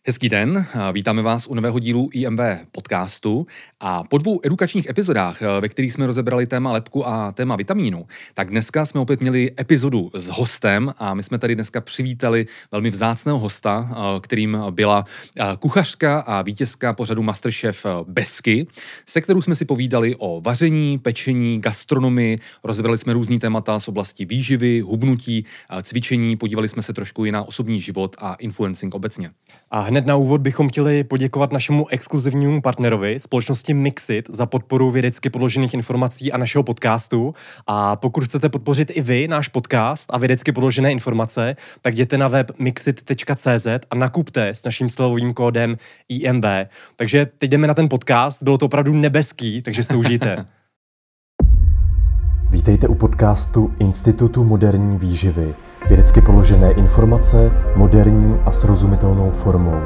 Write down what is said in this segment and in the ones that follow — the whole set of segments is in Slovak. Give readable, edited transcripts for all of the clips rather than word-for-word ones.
Hezký den, vítáme vás u nového dílu IMV podcastu a po 2 edukačních epizodách, ve kterých jsme rozebrali téma lebku a téma vitamínu, tak dneska jsme opět měli epizodu s hostem a my jsme tady dneska přivítali velmi vzácného hosta, kterým byla kuchařka a vítězka pořadu Masterchef Besky, se kterou jsme si povídali o vaření, pečení, gastronomii, rozebrali jsme různý témata z oblasti výživy, hubnutí, cvičení, podívali jsme se trošku i na osobní život a influencing obecně. A hned na úvod bychom chtěli poděkovat našemu exkluzivnímu partnerovi, společnosti Mixit, za podporu vědecky podložených informací a našeho podcastu. A pokud chcete podpořit i vy náš podcast a vědecky podložené informace, tak jděte na web mixit.cz a nakupte s naším slevovým kódem IMV. Takže teď jdeme na ten podcast, bylo to opravdu nebeský, takže si to užijte. Vítejte u podcastu Institutu moderní výživy. Vědecky položené informace, moderní a srozumitelnou formou.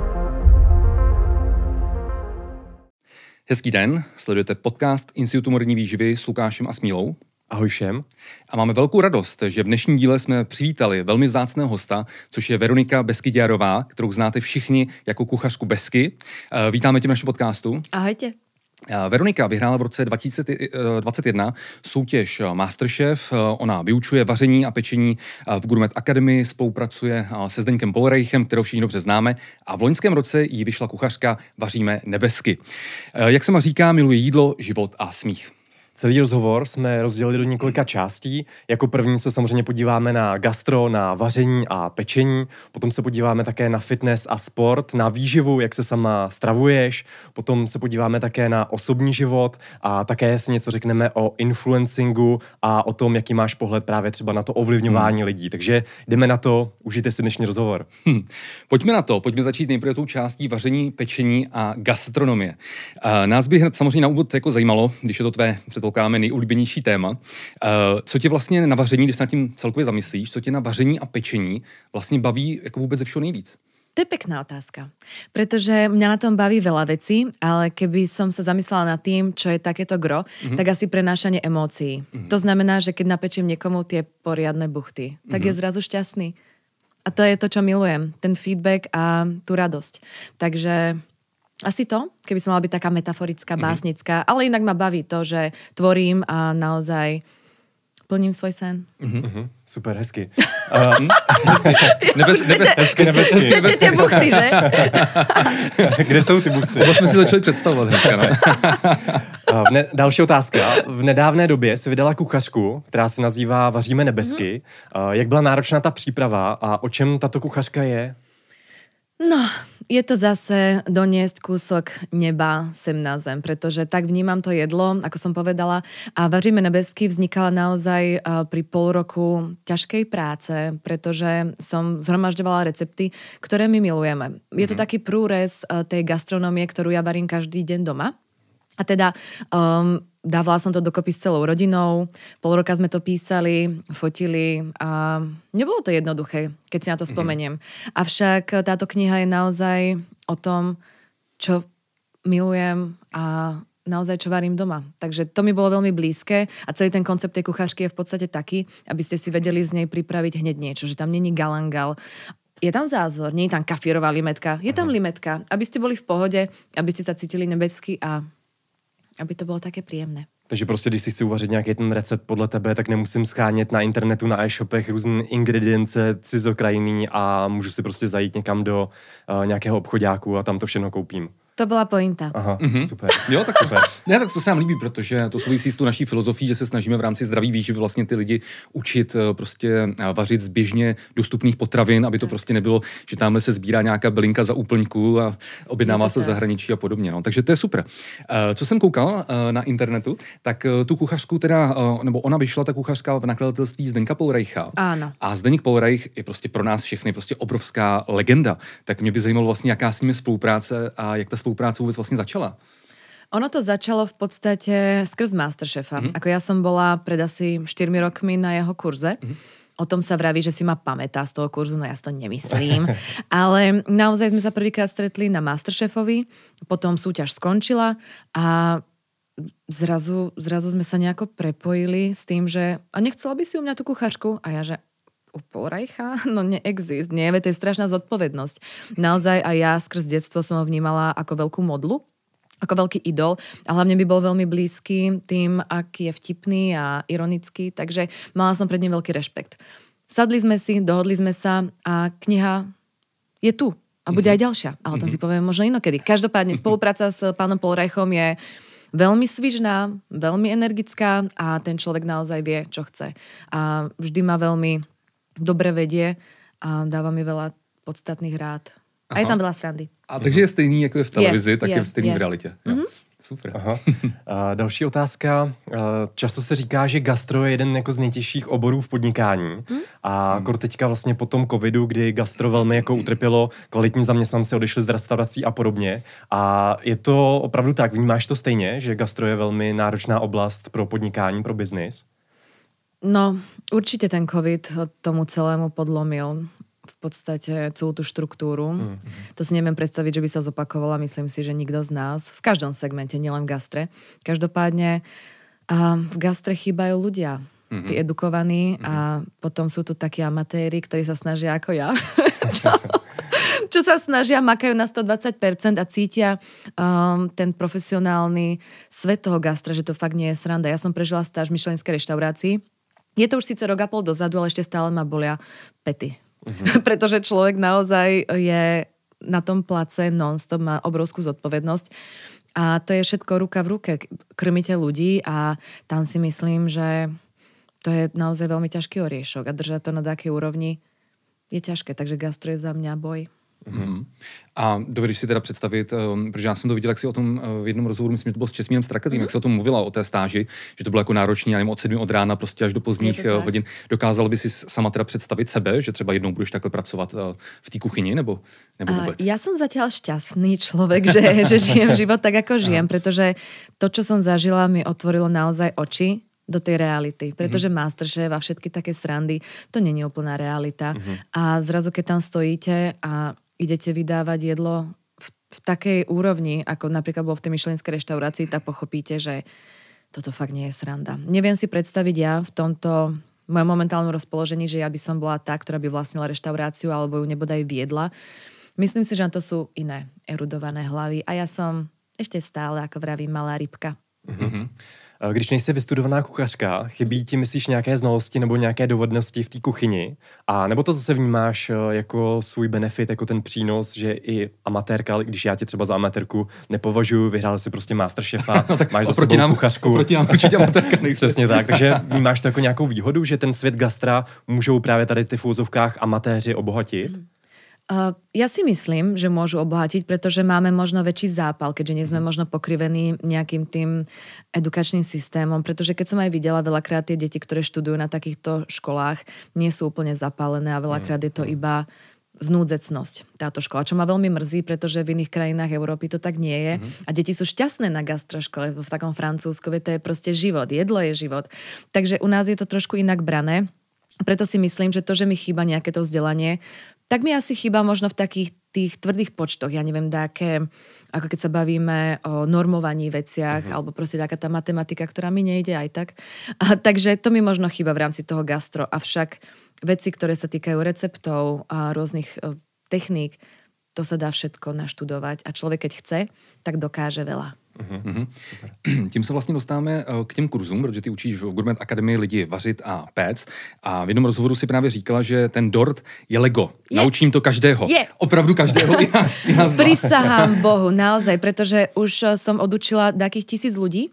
Hezký den, sledujete podcast Institutu moderní výživy s Lukášem a Smílou. Ahoj všem. A máme velkou radost, že v dnešním díle jsme přivítali velmi vzácného hosta, což je Veronika Beskyďárová, kterou znáte všichni jako kuchařku Besky. Vítáme tě v našem podcastu. Ahojte. Veronika vyhrála v roce 2021 soutěž Masterchef. Ona vyučuje vaření a pečení v Gourmet Academy, spolupracuje se Zdeňkem Polreichem, kterou všichni dobře známe, a v loňském roce jí vyšla kuchařka Vaříme nebesky. Jak se má říká, miluje jídlo, život a smích. Celý rozhovor jsme rozdělili do několika částí. Jako první se samozřejmě podíváme na gastro, na vaření a pečení. Potom se podíváme také na fitness a sport, na výživu, jak se sama stravuješ. Potom se podíváme také na osobní život a také si něco řekneme o influencingu a o tom, jaký máš pohled právě třeba na to ovlivňování lidí. Takže jdeme na to, užijte si dnešní rozhovor. Pojďme na to, pojďme začít nejprve tou částí vaření, pečení a gastronomie. Nás by hned samozřejmě na úvod jako zajímalo, když je to tvé předpokládáme nejoblíbenější téma. Co tě vlastně na vaření, když se nad tím celkově zamyslíš, co tě na vaření a pečení vlastně baví jako vůbec ze všeho nejvíc? To je pekná otázka, pretože mňa na tom baví veľa vecí, ale keby som sa zamyslela nad tým, čo je takéto gro, tak asi prenášanie emócií. To znamená, že keď napečím niekomu tie poriadne buchty, tak je zrazu šťastný. A to je to, čo milujem. Ten feedback a tú radosť. Takže asi to, keby som mala byť taká metaforická, básnická, ale inak ma baví to, že tvorím a naozaj plním svoj sen. Super, hezky. Hezky. Chcete tie buchty, že? Kde jsou ty buchty? To jsme si začali představovat hnedka, no. Další otázka. V nedávné době si vydala kuchařku, která se nazývá Vaříme nebesky. Jak byla náročná ta příprava a o čem tato kuchařka je? No, je to zase doniesť kúsok neba sem na zem, pretože tak vnímam to jedlo, ako som povedala. A Vaříme nebesky vznikala naozaj pri pol roku ťažkej práce, pretože som zhromažďovala recepty, ktoré my milujeme. Je to taký prúrez tej gastronomie, ktorú ja varím každý deň doma. A teda dávala som to dokopy s celou rodinou, pol roka sme to písali, fotili a nebolo to jednoduché, keď si na to spomeniem. Avšak táto kniha je naozaj o tom, čo milujem a naozaj čo varím doma. Takže to mi bolo veľmi blízke a celý ten koncept tej kuchařky je v podstate taký, aby ste si vedeli z nej pripraviť hneď niečo, že tam není galangal. Je tam zázvor, nie je tam kafírová limetka, je tam limetka, aby ste boli v pohode, aby ste sa cítili nebesky a aby to bylo také příjemné. Takže prostě, když si chci uvařit nějaký ten recept podle tebe, tak nemusím schánět na internetu, na e-shopech různé ingredience cizokrajný a můžu si prostě zajít někam do nějakého obchodáku a tam to všechno koupím. To byla pointa. Aha, super. Jo, tak super. Ne, tak to se nám líbí, protože to souvisí s tu naší filozofií, že se snažíme v rámci zdraví výživy vlastně ty lidi učit prostě vařit z běžně dostupných potravin, aby to prostě nebylo, že tamhle se sbírá nějaká bylinka za úplňku a objednává se z zahraničí a podobně. No. Takže to je super. Co jsem koukal na internetu, tak tu kuchařku teda, nebo ona vyšla, ta kuchařka v nakladatelství Zdeňka Polreicha. Ano. A Zdeněk Polreich je prostě pro nás všechny prostě obrovská legenda. Tak mě by zajímalo vlastně, jaká s nimi spolupráce a jak ta spolupráce vůbec vlastně začala. Ono to začalo v podstate skrz Masterchefa. Ako ja som bola pred asi 4 rokmi na jeho kurze. O tom sa vraví, že si ma pamätá z toho kurzu, no ja si to nemyslím. Ale naozaj sme sa prvýkrát stretli na Masterchefovi, potom súťaž skončila a zrazu sme sa nejako prepojili s tým, že a nechcela by si u mňa tú kuchačku? A ja, že u Polreicha? No neexist, nie, to je strašná zodpovednosť. Naozaj aj ja skrz detstvo som ho vnímala ako veľkú modlu, ako veľký idol a hlavne by bol veľmi blízky tým, aký je vtipný a ironický, takže mala som pred ním veľký rešpekt. Sadli sme si, dohodli sme sa a kniha je tu a bude aj ďalšia, ale o tom si povieme možno inokedy. Každopádne spolupráca s pánom Polreichom je veľmi svižná, veľmi energická a ten človek naozaj vie, čo chce. A vždy ma veľmi dobre vedie a dáva mi veľa podstatných rád. A je tam veľa srandy. A takže je stejný, jako je v televizi, tak je stejný v realitě. Super. Aha. A další otázka. Často se říká, že gastro je jeden jako z nejtěžších oborů v podnikání. A teďka vlastně po tom covidu, kdy gastro velmi jako utrpělo, kvalitní zaměstnanci odešli z restaurací a podobně. A je to opravdu tak? Vnímáš to stejně, že gastro je velmi náročná oblast pro podnikání, pro biznis? No, určite ten covid tomu celému podlomil v podstate celú tú štruktúru. To si neviem predstaviť, že by sa zopakovala. Myslím si, že nikto z nás, v každom segmente, nielen v gastre. Každopádne v gastre chýbajú ľudia, tí edukovaní a potom sú tu takí amatéri, ktorí sa snažia ako ja. čo sa snažia, makajú na 120% a cítia ten profesionálny svet toho gastra, že to fakt nie je sranda. Ja som prežila stáž v michelinskej reštaurácii. Je to už síce rok a pol dozadu, ale ešte stále ma bolia pety. Pretože človek naozaj je na tom place non-stop, má obrovskú zodpovednosť. A to je všetko ruka v ruke. Krmíte ľudí a tam si myslím, že to je naozaj veľmi ťažký oriešok a držať to na takej úrovni je ťažké. Takže gastro je za mňa boj. A dovedeš si teda představit, protože já jsem to viděl, jak si o tom v jednom rozhovoru, myslím, že to bylo s Česmírem Strakatým, jak se o tom mluvila, o té stáži, že to bylo jako náročný, já nevím, od 7 od rána prostě až do pozdních hodin. Dokázala by si sama teda představit sebe, že třeba jednou budeš takhle pracovat v té kuchyni, nebo vůbec? Ja som zatiaľ šťastný človek, že žijem život tak, ako žijem, pretože to, čo som zažila, mi otvorilo naozaj oči do tej reality. Pretože Masterchef a všetky také srandy, to není úplná realita. A zrazu, keď tam stojíte a idete vydávať jedlo v takej úrovni, ako napríklad bolo v tej michelinskej reštaurácii, tak pochopíte, že toto fakt nie je sranda. Neviem si predstaviť ja v tomto mojom momentálnom rozpoložení, že ja by som bola tá, ktorá by vlastnila reštauráciu alebo ju nebodaj viedla. Myslím si, že na to sú iné erudované hlavy a ja som ešte stále, ako vravím, malá rybka. Když nejsi vystudovaná kuchařka, chybí ti, myslíš, nějaké znalosti nebo nějaké dovednosti v té kuchyni? A nebo to zase vnímáš jako svůj benefit, jako ten přínos, že i amatérka, když já tě třeba za amatérku nepovažuji, vyhrál si prostě Masterchefa, no, máš za sebou kuchařku. Oproti nám určitě amatérka nejsi. Přesně tak, takže vnímáš to jako nějakou výhodu, že ten svět gastra můžou právě tady ty v úzovkách amatéři obohatit? Ja si myslím, že môžu obohatiť, pretože máme možno väčší zápal, keďže nie sme možno pokrivení nejakým tým edukačným systémom, pretože keď som aj videla veľakrát tie deti, ktoré študujú na takýchto školách, nie sú úplne zapálené a veľakrát je to iba znúdzecnosť táto škola, čo ma veľmi mrzí, pretože v iných krajinách Európy to tak nie je a deti sú šťastné na gastroškole, v takom Francúzskovi to je proste život, jedlo je život. Takže u nás je to trošku inak brané. Preto si myslím, že to, že mi chýba nejaké to vzdelanie, tak mi asi chýba možno v takých tých tvrdých počtoch. Ja neviem, dáke, ako keď sa bavíme o normovaní veciach, alebo proste taká tá matematika, ktorá mi nejde aj tak. Takže to mi možno chýba v rámci toho gastro. Avšak veci, ktoré sa týkajú receptov a rôznych techník, to sa dá všetko naštudovať. A človek, keď chce, tak dokáže veľa. Super. Tím se vlastně dostáváme k těm kurzům, protože ty učíš v Gourmet Akademii lidi vařit a péct. A v jednom rozhovoru si právě říkala, že ten dort je Lego. Naučím to každého. Opravdu každého. I nás Prisahám Bohu, naozaj, pretože už som odučila takých 1000 ľudí.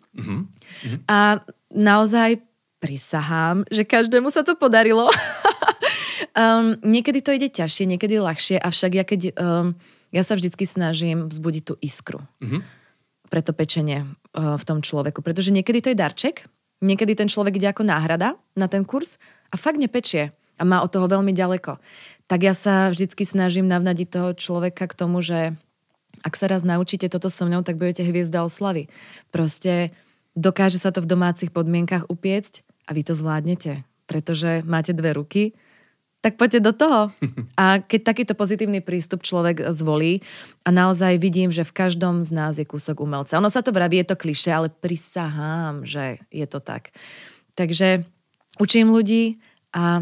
A naozaj prisahám, že každému sa to podarilo. Niekedy to ide ťažšie, niekedy ľahšie, avšak ja sa vždycky snažím vzbudiť tú iskru. Pre to pečenie v tom človeku. Pretože niekedy to je darček, niekedy ten človek ide ako náhrada na ten kurz a fakt nepečie a má od toho veľmi ďaleko. Tak ja sa vždycky snažím navnadiť toho človeka k tomu, že ak sa raz naučíte toto so mnou, tak budete hviezda oslavy. Proste dokáže sa to v domácich podmienkach upiecť a vy to zvládnete, pretože máte 2 ruky, tak poďte do toho. A keď takýto pozitívny prístup človek zvolí a naozaj vidím, že v každom z nás je kúsok umelca. Ono sa to vraví, je to klišé, ale prisahám, že je to tak. Takže učím ľudí a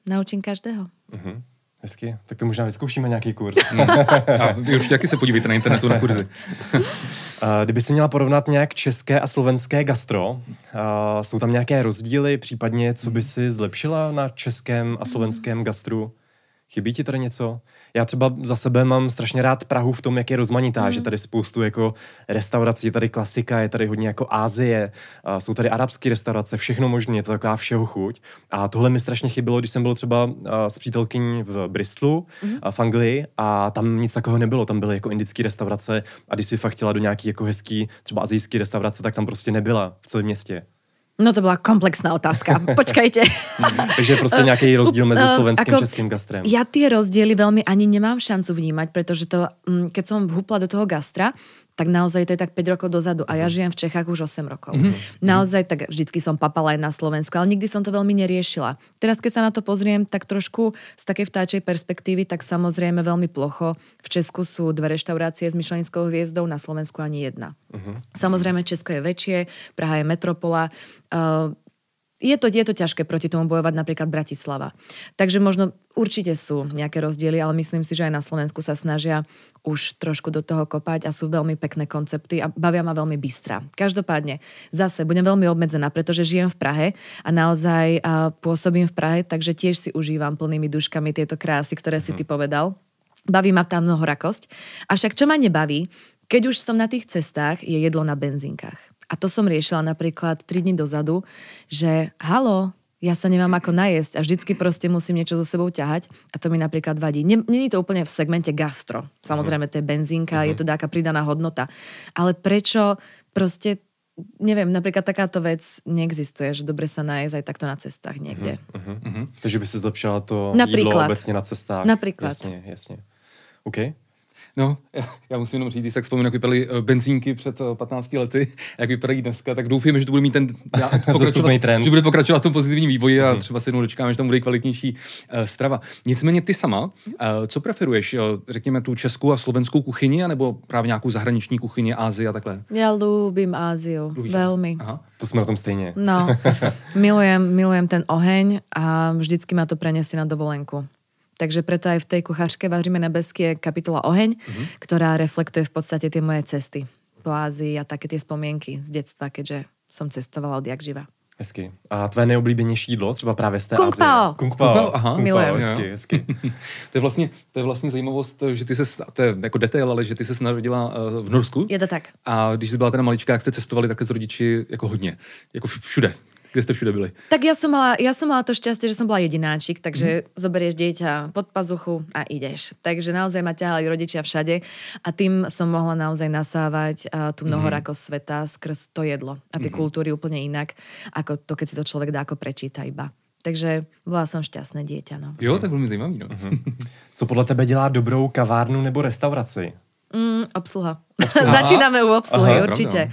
naučím každého. Hezky, tak to možná vyzkoušíme nějaký kurz. A vy určitě taky se podívejte na internetu na kurzy. Kdyby si měla porovnat nějak české a slovenské gastro, jsou tam nějaké rozdíly, případně co by si zlepšila na českém a slovenském gastru? Chybí ti tady něco? Já třeba za sebe mám strašně rád Prahu v tom, jak je rozmanitá, že tady spoustu jako restaurací, je tady klasika, je tady hodně jako Asie, jsou tady arabské restaurace, všechno možné, je to taková všeho chuť. A tohle mi strašně chybělo, když jsem byl třeba s přítelkyní v Bristolu, v Anglii, a tam nic takového nebylo, tam byly jako indické restaurace a když si fakt chtěla do nějaký jako hezký, třeba asijský restaurace, tak tam prostě nebyla v celém městě. No to bola komplexná otázka. Počkajte. Takže je prostě nějaký rozdíl mezi slovenským a českým gastrem. Ja tie rozdiely veľmi ani nemám šancu vnímať, pretože to, keď som vhupla do toho gastra, tak naozaj to je tak 5 rokov dozadu a ja žijem v Čechách už 8 rokov. Naozaj tak vždycky som papala aj na Slovensku, ale nikdy som to veľmi neriešila. Teraz, keď sa na to pozriem, tak trošku z takej vtáčej perspektívy, tak samozrejme veľmi plocho. V Česku sú 2 reštaurácie s Michelinskou hviezdou, na Slovensku ani 1. Samozrejme, Česko je väčšie, Praha je metropola. Je to ťažké proti tomu bojovať, napríklad Bratislava. Takže možno určite sú nejaké rozdiely, ale myslím si, že aj na Slovensku sa snažia už trošku do toho kopať a sú veľmi pekné koncepty a bavia ma veľmi bystra. Každopádne, zase budem veľmi obmedzená, pretože žijem v Prahe a naozaj pôsobím v Prahe, takže tiež si užívam plnými duškami tieto krásy, ktoré si ty povedal. Baví ma tá mnohorakosť. Avšak čo ma nebaví, keď už som na tých cestách, je jedlo na benzínkach. A to som riešila napríklad 3 dní dozadu, že halo, ja sa nemám ako najesť a vždycky proste musím niečo so sebou ťahať a to mi napríklad vadí. Není to úplne v segmente gastro. Samozrejme, to je benzínka, je to taká pridaná hodnota. Ale prečo proste, neviem, napríklad takáto vec neexistuje, že dobre sa najesť aj takto na cestách niekde. Takže by si zlepšila to napríklad jídlo obecně na cestách. Napríklad. Jasně. OK. No, já musím jenom říct, když tak vzpomínám, jak vypadaly benzínky před 15 lety, jak vypadají dneska, tak doufujeme, že to bude mít ten trend. Že bude pokračovat v tom pozitivním vývoji a třeba se jednou dočkáme, že tam bude kvalitnější strava. Nicméně ty sama, co preferuješ? Řekněme tu českou a slovenskou kuchyni, anebo právě nějakou zahraniční kuchyni, Ázii a takhle? Ja ľúbim Áziu. Veľmi. Aha. To jsme na tom stejně. No, milujem ten oheň a vždycky ma to preniesie na dovolenku. Takže preto aj v tej kuchařke Vaříme nebesky je kapitola Oheň, ktorá reflektuje v podstate tie moje cesty po Ázii a také tie spomienky z detstva, keďže som cestovala odjak živa. Hezky. A tvé nejoblíbenější jídlo, třeba právě z té Kung Azie? Pao. Kung Pao, aha. Milujem. Hezky. To je vlastně zajímavost, že ty se, to je jako detail, ale že ty se narodila v Norsku. Je to tak. A když jsi byla teda malička, jak jste cestovali také s rodiči jako hodně, jako všude. Kde ste všude byli? Tak ja som mala to šťastie, že som bola jedináčik, takže zoberieš dieťa pod pazuchu a ideš. Takže naozaj ma ťahali rodičia všade a tým som mohla naozaj nasávať tú mnohorakosť sveta skrz to jedlo a tie kultúry úplne inak, ako to, keď si to človek dá ako prečíta iba. Takže bola som šťastné dieťa. No. Jo, tak veľmi zajímavý. No. Co podle tebe dělá dobrou kavárnu nebo restauraci? Obsluha. Začíname u obsluhy, určite.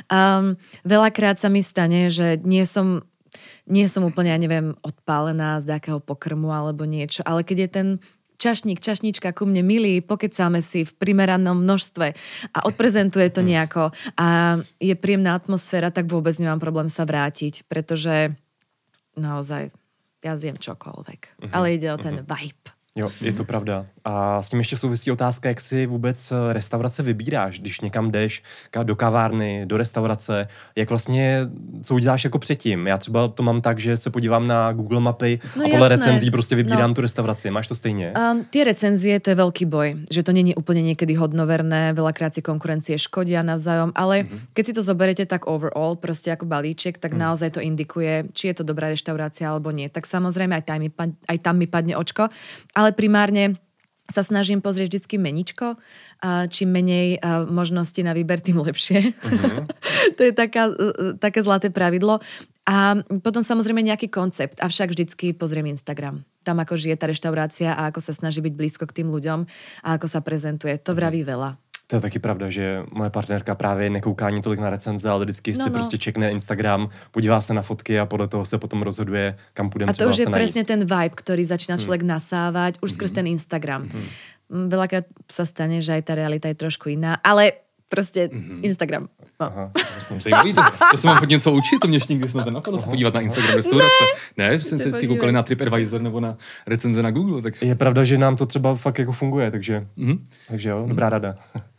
Veľakrát sa mi stane, že nie som úplne, ja neviem, odpálená z nejakého pokrmu alebo niečo, ale keď je ten čašníčka ku mne milý, pokecáme si v primeranom množstve a odprezentuje to nejako a je príjemná atmosféra, tak vôbec nemám problém sa vrátiť, pretože naozaj ja zjem čokoľvek. Ale ide o ten vibe. Jo, je to pravda. A s tím ještě souvisí otázka, jak si vůbec restaurace vybíráš, když někam jdeš do kavárny, do restaurace, jak vlastně, co uděláš jako předtím. Já třeba to mám tak, že se podívám na Google mapy a podle recenzí prostě vybírám tu restauraci. Máš to stejně? Tie recenzie, to je veľký boj, že to nie je úplne niekedy hodnoverné, veľakrát si konkurencie škodia navzájom, ale keď si to zoberiete tak overall, prostě ako balíček, tak naozaj to indikuje, či je to dobrá reštaurácia alebo nie. Tak samozrejme aj tam mi padne očko, ale primárne sa snažím pozrieť vždycky meničko a čím menej možností na výber, tým lepšie. To je také zlaté pravidlo. A potom samozrejme nejaký koncept, avšak vždycky pozriem Instagram. Tam ako žije tá reštaurácia a ako sa snaží byť blízko k tým ľuďom a ako sa prezentuje. To vraví veľa. To je taky pravda, že moje partnerka právě nekouká ani tolik na recenze, ale vždycky si prostě čekne Instagram, podívá se na fotky a podle toho se potom rozhoduje, kam půjdeme třeba se najíst. A to už je presne ten vibe, ktorý začína človek nasávať už skrz ten Instagram. Veľakrát sa stane, že aj tá realita je trošku iná, ale Prostě Instagram. No. Aha, Zajímavý, to se mám hodně něco učit, to mě ještě nikdy snad nenapadlo se podívat na Instagram restaurace. Ne, jsem se vždycky koukali na TripAdvisor nebo na recenze na Google. Tak... Je pravda, že nám to třeba fakt jako funguje, takže jo, dobrá rada.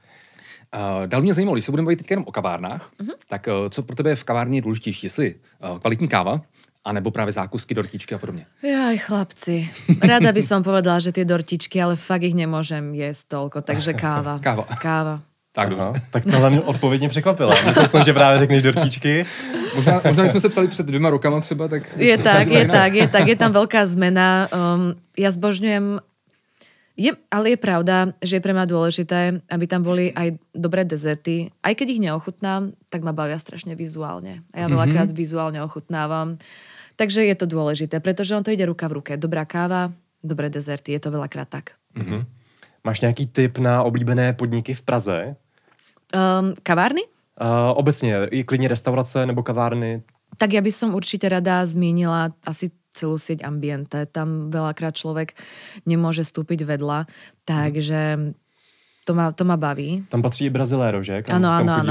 Dál mě zajímalo, když se budeme bavit teď jenom o kavárnách, tak co pro tebe je v kavárně důležitější? Jestli kvalitní káva, anebo právě zákusky, dortičky a podobně? Jaj, chlapci. Rada by som povedala, že tie dortičky, ale fakt ich nemôžem jesť toľko, takže káva. Káva. Tak dobře. Tak tohle mě odpovědně překvapila. Myslel jsem, že právě řekneš dortičky. Možná když jsme se ptali před 2 rokama třeba, tak... Je tam veľká zmena. Ja zbožňujem... Ale je pravda, že je pre mňa dôležité, aby tam boli aj dobré dezerty. Aj keď ich neochutnám, tak ma bavia strašne vizuálne. A ja veľakrát vizuálne ochutnávam. Takže je to dôležité, pretože on to ide ruka v ruke. Dobrá káva, dobré dezerty, je to veľakrát tak. Máš nějaký tip na oblíbené podniky v Praze? Kavárny? Obecně, i klidně restaurace nebo kavárny? Tak ja by som určite rada zmienila asi celú sieť Ambiente. Tam veľakrát človek nemôže vstúpiť vedľa, takže to ma baví. Tam patří i Brazilero, že? Áno.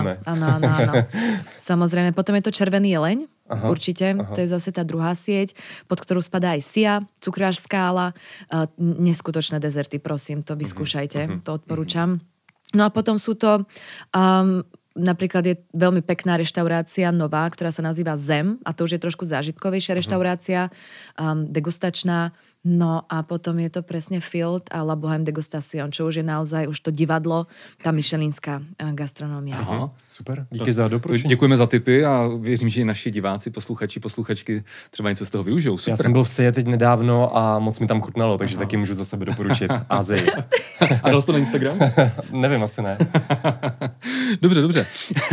Samozrejme. Potom je to Červený jeleň, určite. To je zase tá druhá sieť, pod ktorú spadá aj Sia, Cukrář Skála. Neskutočné dezerty, prosím, to vyskúšajte, to odporúčam. No a potom sú to... napríklad je veľmi pekná reštaurácia nová, ktorá sa nazýva Zem a to už je trošku zážitkovejšia reštaurácia, degustačná. No a potom je to presne Field a La Bohème Degustation, čo už je naozaj už to divadlo, tá michelinská gastronómia. Aha, super, díky za doporučení. Děkujeme za tipy a věřím, že i naši diváci, posluchači, posluchačky třeba něco z toho využijou. Super. Já jsem byl v Sije teď nedávno a moc mi tam chutnalo, takže taky můžu za sebe doporučit Asii. A dal jsi to na Instagram? Nevím, asi ne. Dobře.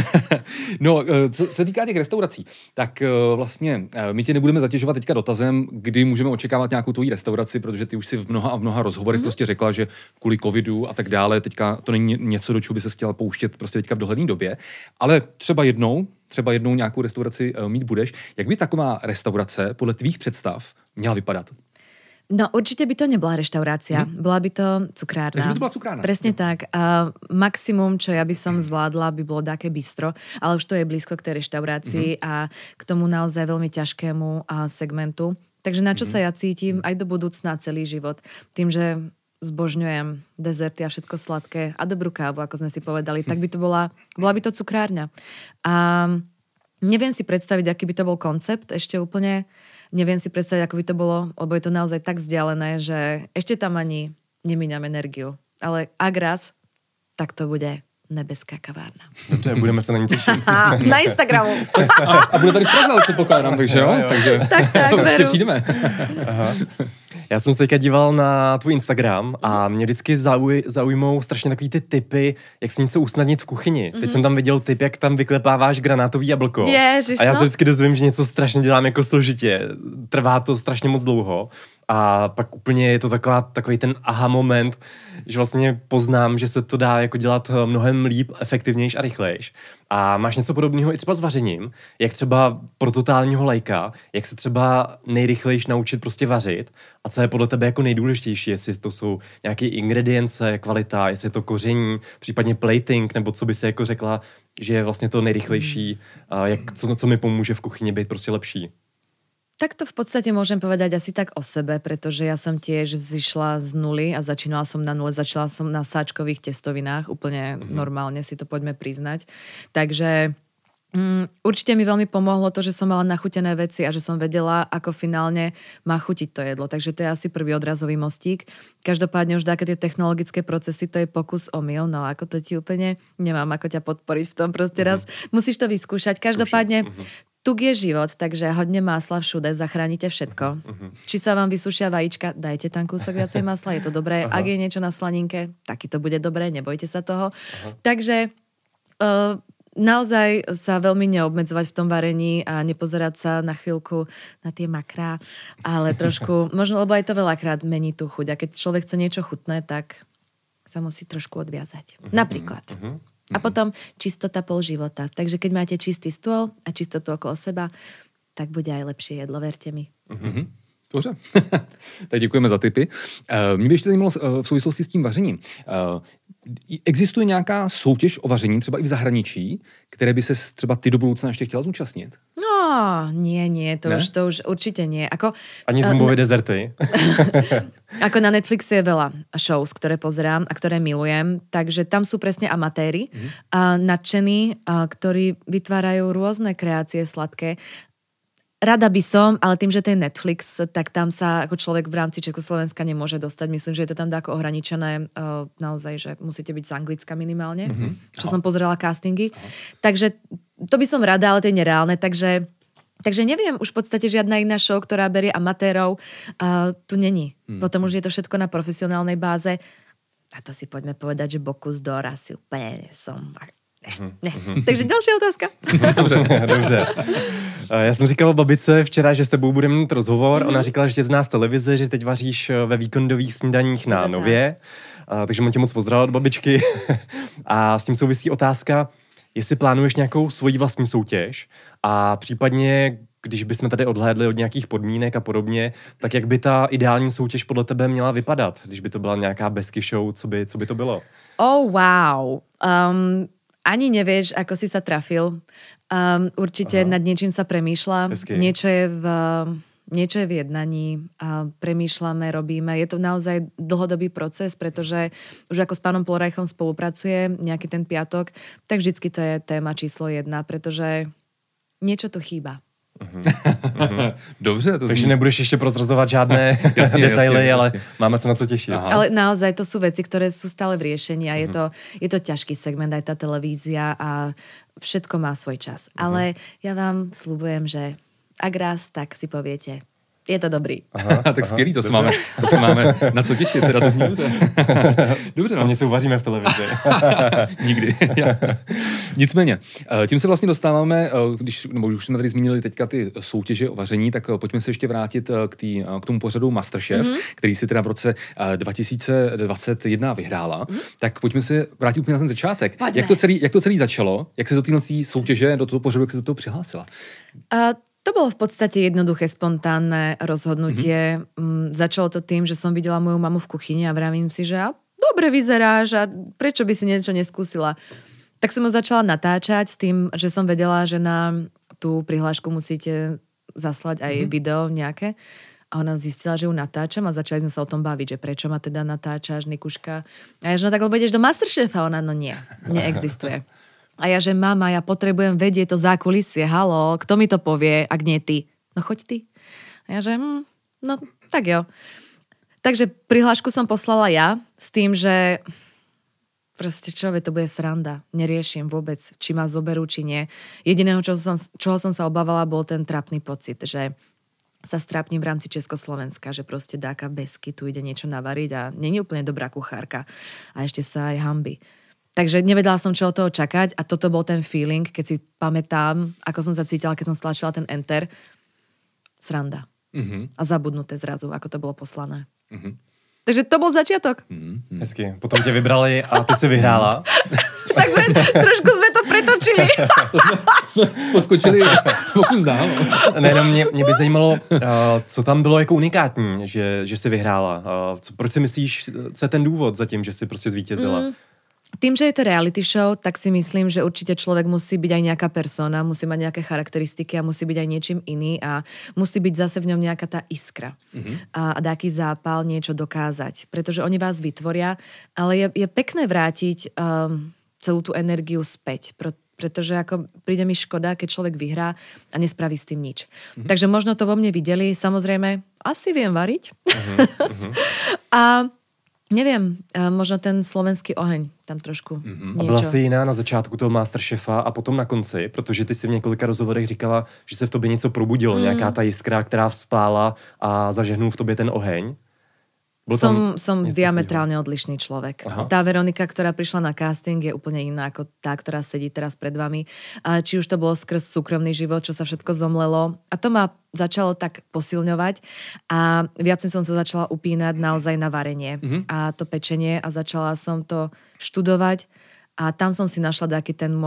No, co se týká těch restaurací, tak vlastně my tě nebudeme zatěžovat teďka dotazem, kdy můžeme očekávat nějakou tvoji restauraci, protože ty už si v mnoha rozhovorech prostě řekla, že kvůli covidu a tak dále, teďka to není něco, do čeho by se chtěla pouštět prostě teďka v dohledné době, ale třeba jednou nějakou restauraci mít budeš. Jak by taková restaurace podle tvých představ měla vypadat? No určite by to nebola reštaurácia, bola by to cukrárna. Takže by to bola cukrárna. Presne tak. A maximum, čo ja by som zvládla, by bolo také bistro, ale už to je blízko k tej reštaurácii a k tomu naozaj veľmi ťažkému segmentu. Takže na čo sa ja cítim aj do budúcna celý život. Tým, že zbožňujem dezerty a všetko sladké a dobrú kávu, ako sme si povedali, tak by to bola by to cukrárňa. A neviem si predstaviť, aký by to bol koncept ešte úplne. Neviem si predstaviť, ako by to bolo, lebo je to naozaj tak vzdialené, že ešte tam ani nemíňam energiu. Ale ak raz, tak to bude nebeská kavárna. Dobře, budeme se na ní těšit. Na Instagramu. A bude tady v Praze, co pokládám, takže jo? Takže tak, ještě přijdeme. Aha. Já jsem se teďka díval na tvůj Instagram a mě vždycky zaujmou strašně takový ty tipy, jak si něco usnadnit v kuchyni. Teď jsem tam viděl tip, jak tam vyklepáváš granátový jablko. Ježiš, a já se vždycky dozvím, že něco strašně dělám jako složitě. Trvá to strašně moc dlouho. A pak úplně je to takový ten aha moment, že vlastně poznám, že se to dá jako dělat mnohem líp, efektivnějš a rychlejš. A máš něco podobného i třeba s vařením, jak třeba pro totálního lajka, jak se třeba nejrychlejš naučit prostě vařit a co je podle tebe jako nejdůležitější, jestli to jsou nějaké ingredience, kvalita, jestli je to koření, případně plating, nebo co by se jako řekla, že je vlastně to nejrychlejší, co mi pomůže v kuchyni být prostě lepší. Tak to v podstate môžem povedať asi tak o sebe, pretože ja som tiež vzýšla z nuly a začínala som na nule, začala som na sáčkových testovinách, úplne normálne si to poďme priznať. Takže určite mi veľmi pomohlo to, že som mala nachutené veci a že som vedela, ako finálne má chutiť to jedlo. Takže to je asi prvý odrazový mostík. Každopádne už také tie technologické procesy, to je pokus omyl, no ako to ti úplne nemám ako ťa podporiť v tom proste raz. Musíš to vyskúšať. Každopádne tuk je život, takže hodne másla všude, zachránite všetko. Či sa vám vysušia vajíčka, dajte tam kúsok viacej masla, je to dobré. Ak je niečo na slaninke, taky to bude dobré, nebojte sa toho. Takže naozaj sa veľmi neobmedzovať v tom varení a nepozerať sa na chvíľku na tie makrá, ale trošku, možno, lebo aj to veľakrát mení tú chuť. A keď človek chce niečo chutné, tak sa musí trošku odviazať. Napríklad. A potom čistota pol života. Takže keď máte čistý stôl a čistotu okolo seba, tak bude aj lepšie jedlo, verte mi. Dobře, tak děkujeme za tipy. Mě by ještě zajímalo v souvislosti s tím vařením. Existuje nějaká soutěž o vaření, třeba i v zahraničí, které by se třeba ty do budoucna ještě chtěla zúčastnit? No, nie, to už určite nie. Ani zumbové dezerty? Ako na Netflixe je veľa shows, ktoré pozerám a ktoré milujem, takže tam sú presne amatéri, nadšení, ktorí vytvárajú rôzne kreácie sladké. Rada by som, ale tým, že to je Netflix, tak tam sa ako človek v rámci Československa nemôže dostať. Myslím, že je to tam ako ohraničené naozaj, že musíte byť z Anglicka minimálne, čo som pozerala castingy. Takže to by som rada, ale to je nereálne. Takže neviem, už v podstate žiadna iná show, ktorá berie amatérov, tu není. Potom už je to všetko na profesionálnej báze. A to si poďme povedať, že Bocuse d'Or asi úplne som... Ne. Takže další otázka. Dobře. Já jsem říkal babice včera, že s tebou budeme mít rozhovor. Ona říkala, že tě zná z televize, že teď vaříš ve víkendových snídaních na Nově. Takže mám tě moc pozdravit od babičky. A s tím souvisí otázka, jestli plánuješ nějakou svoji vlastní soutěž a případně, když bychom tady odhlédli od nějakých podmínek a podobně, tak jak by ta ideální soutěž podle tebe měla vypadat? Když by to byla nějaká besky show, co by to bylo? Oh, wow. Ani nevieš, ako si sa trafil. Určite nad niečím sa premýšľa. Niečo je v jednaní. Premýšľame, robíme. Je to naozaj dlhodobý proces, pretože už ako s pánom Polorajchom spolupracuje nejaký ten piatok, tak vždycky to je téma číslo 1, pretože niečo tu chýba. Dobře. Takže nebudeš ještě prozrazovat žádné detaily, ale máme se na co těšit. Ale naozaj to sú veci, ktoré sú stále v riešení a je to ťažký segment, aj tá televízia a všetko má svoj čas. Ale ja vám sľubujem, že ak raz, tak si poviete, je to dobrý. Tak skvělý, to se máme na co těšit, teda to zní dobře. Dobře, no. Tam něco uvaříme v televizi. Nikdy. Nicméně, tím se vlastně dostáváme, nebo už jsme tady zmínili teďka ty soutěže o vaření, tak pojďme se ještě vrátit k tomu pořadu MasterChef, který si teda v roce 2021 vyhrála. Tak pojďme se vrátit úplně na ten začátek. Jak to celý začalo? Jak se do této soutěže, do toho pořadu, jak se do toho přihlásila? To bolo v podstate jednoduché, spontánne rozhodnutie. Začalo to tým, že som videla moju mamu v kuchyni a vravím si, že dobre vyzeráš a prečo by si niečo neskúsila. Tak som ho začala natáčať s tým, že som vedela, že na tú prihlášku musíte zaslať aj video nejaké. A ona zistila, že ju natáčam a začali sme sa o tom baviť, že prečo ma teda natáčaš, Nikuška. A ja, že no tak lebo ideš do MasterChefa. Ona, no nie, neexistuje. A ja, že mama, ja potrebujem vedieť to zákulisie, haló, kto mi to povie, ak nie ty? No choď ty. A ja, že no tak jo. Takže prihlášku som poslala ja s tým, že proste to bude sranda. Neriešim vôbec, či ma zoberú, či nie. Jediného, čoho som sa obávala, bol ten trapný pocit, že sa strápnim v rámci Československa, že proste dáka besky, tu ide niečo navariť a není úplne dobrá kuchárka. A ešte sa aj hanby. Takže nevedela som, čo od toho čakať a toto bol ten feeling, keď si pamätám, ako som sa cítila, keď som stlačila ten enter. Sranda. A zabudnuté zrazu, ako to bolo poslané. Takže to bol začiatok. Hezky. Potom tě vybrali a ty si vyhrála. Tak trošku sme to pretočili. Jsme poskočili pokus dál. Ne, mě by zajímalo, co tam bylo jako unikátní, že jsi vyhrála. Proč si myslíš, co je ten důvod za tím, že jsi prostě zvítězila? Tým, že je to reality show, tak si myslím, že určite človek musí byť aj nejaká persona, musí mať nejaké charakteristiky a musí byť aj niečím iný a musí byť zase v ňom nejaká tá iskra. A dáky zápal niečo dokázať. Pretože oni vás vytvoria, ale je pekné vrátiť celú tú energiu späť. Pretože ako príde mi škoda, keď človek vyhrá a nespraví s tým nič. Takže možno to vo mne videli. Samozrejme, asi viem variť. A neviem, možno ten slovenský oheň tam trošku niečo. A byla jsi jiná na začátku toho MasterChefa a potom na konci, protože ty si v několika rozhovorech říkala, že se v tobě něco probudilo, nějaká ta jiskra, která vzplála a zažehnul v tobě ten oheň. Som diametrálne odlišný človek. Aha. Tá Veronika, ktorá prišla na casting, je úplne iná ako tá, ktorá sedí teraz pred vami. A či už to bolo skrz súkromný život, čo sa všetko zomlelo. A to ma začalo tak posilňovať a viac som sa začala upínať naozaj na varenie a to pečenie a začala som to študovať a tam som si našla taký ten môj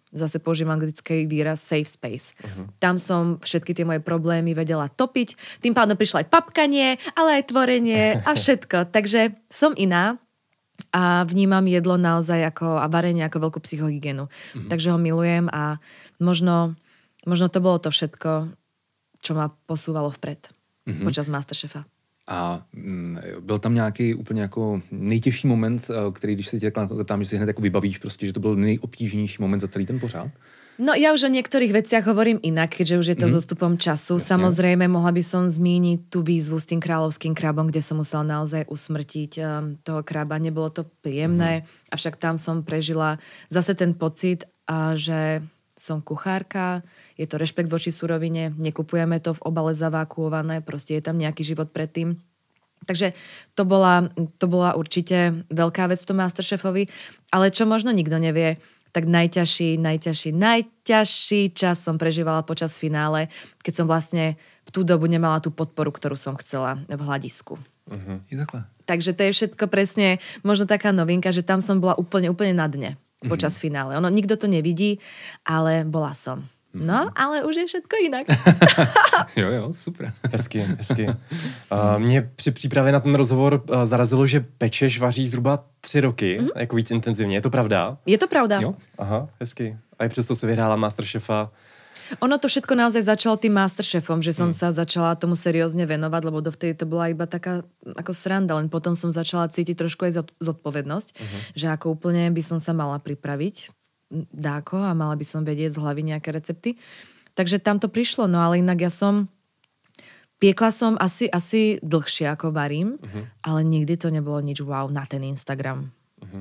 zase použijem anglický výraz safe space. Tam som všetky tie moje problémy vedela topiť, tým pádom prišlo aj papkanie, ale aj tvorenie a všetko. Takže som iná a vnímam jedlo naozaj a varenie ako veľkú psychohygienu. Takže ho milujem a možno to bolo to všetko, čo ma posúvalo vpred počas Masterchefa. A byl tam nějaký úplně jako nejtěžší moment, který, když se tě na to zeptám, že si hned jako vybavíš prostě, že to byl nejobtížnější moment za celý ten pořád? No ja už o niektorých veciach hovorím inak, keďže už je to so stupom času. Jasne. Samozrejme, mohla by som zmíniť tú výzvu s tým kráľovským krabom, kde som musela naozaj usmrtiť toho kraba. Nebolo to príjemné, avšak tam som prežila zase ten pocit, že som kuchárka, je to rešpekt voči surovine, nekupujeme to v obale zavákuované, proste je tam nejaký život predtým. Takže to bola určite veľká vec v tom Masterchefovi, ale čo možno nikto nevie, tak najťažší čas som prežívala počas finále, keď som vlastne v tú dobu nemala tú podporu, ktorú som chcela v hľadisku. Takže to je všetko presne možno taká novinka, že tam som bola úplne na dne počas finále. Ono nikto to nevidí, ale bola som. No, ale už je všetko jinak. Jo, super. Hezky. Mě při přípravě na ten rozhovor zarazilo, že pečeš, vaříš zhruba 3 roky, jako víc intenzivně. Je to pravda? Je to pravda. Jo. Aha, hezky. A i přesto se vyhrála Masterchefa. Ono to všetko naozaj začalo tým Masterchefom, že som sa začala tomu seriózne venovať, lebo dovtedy to bola iba taká ako sranda, len potom som začala cítiť trošku aj zodpovednosť, že ako úplne by som sa mala pripraviť dáko a mala by som vedieť z hlavy nejaké recepty. Takže tam to prišlo, no ale inak piekla som asi dlhšie ako varím, ale nikdy to nebolo nič wow na ten Instagram.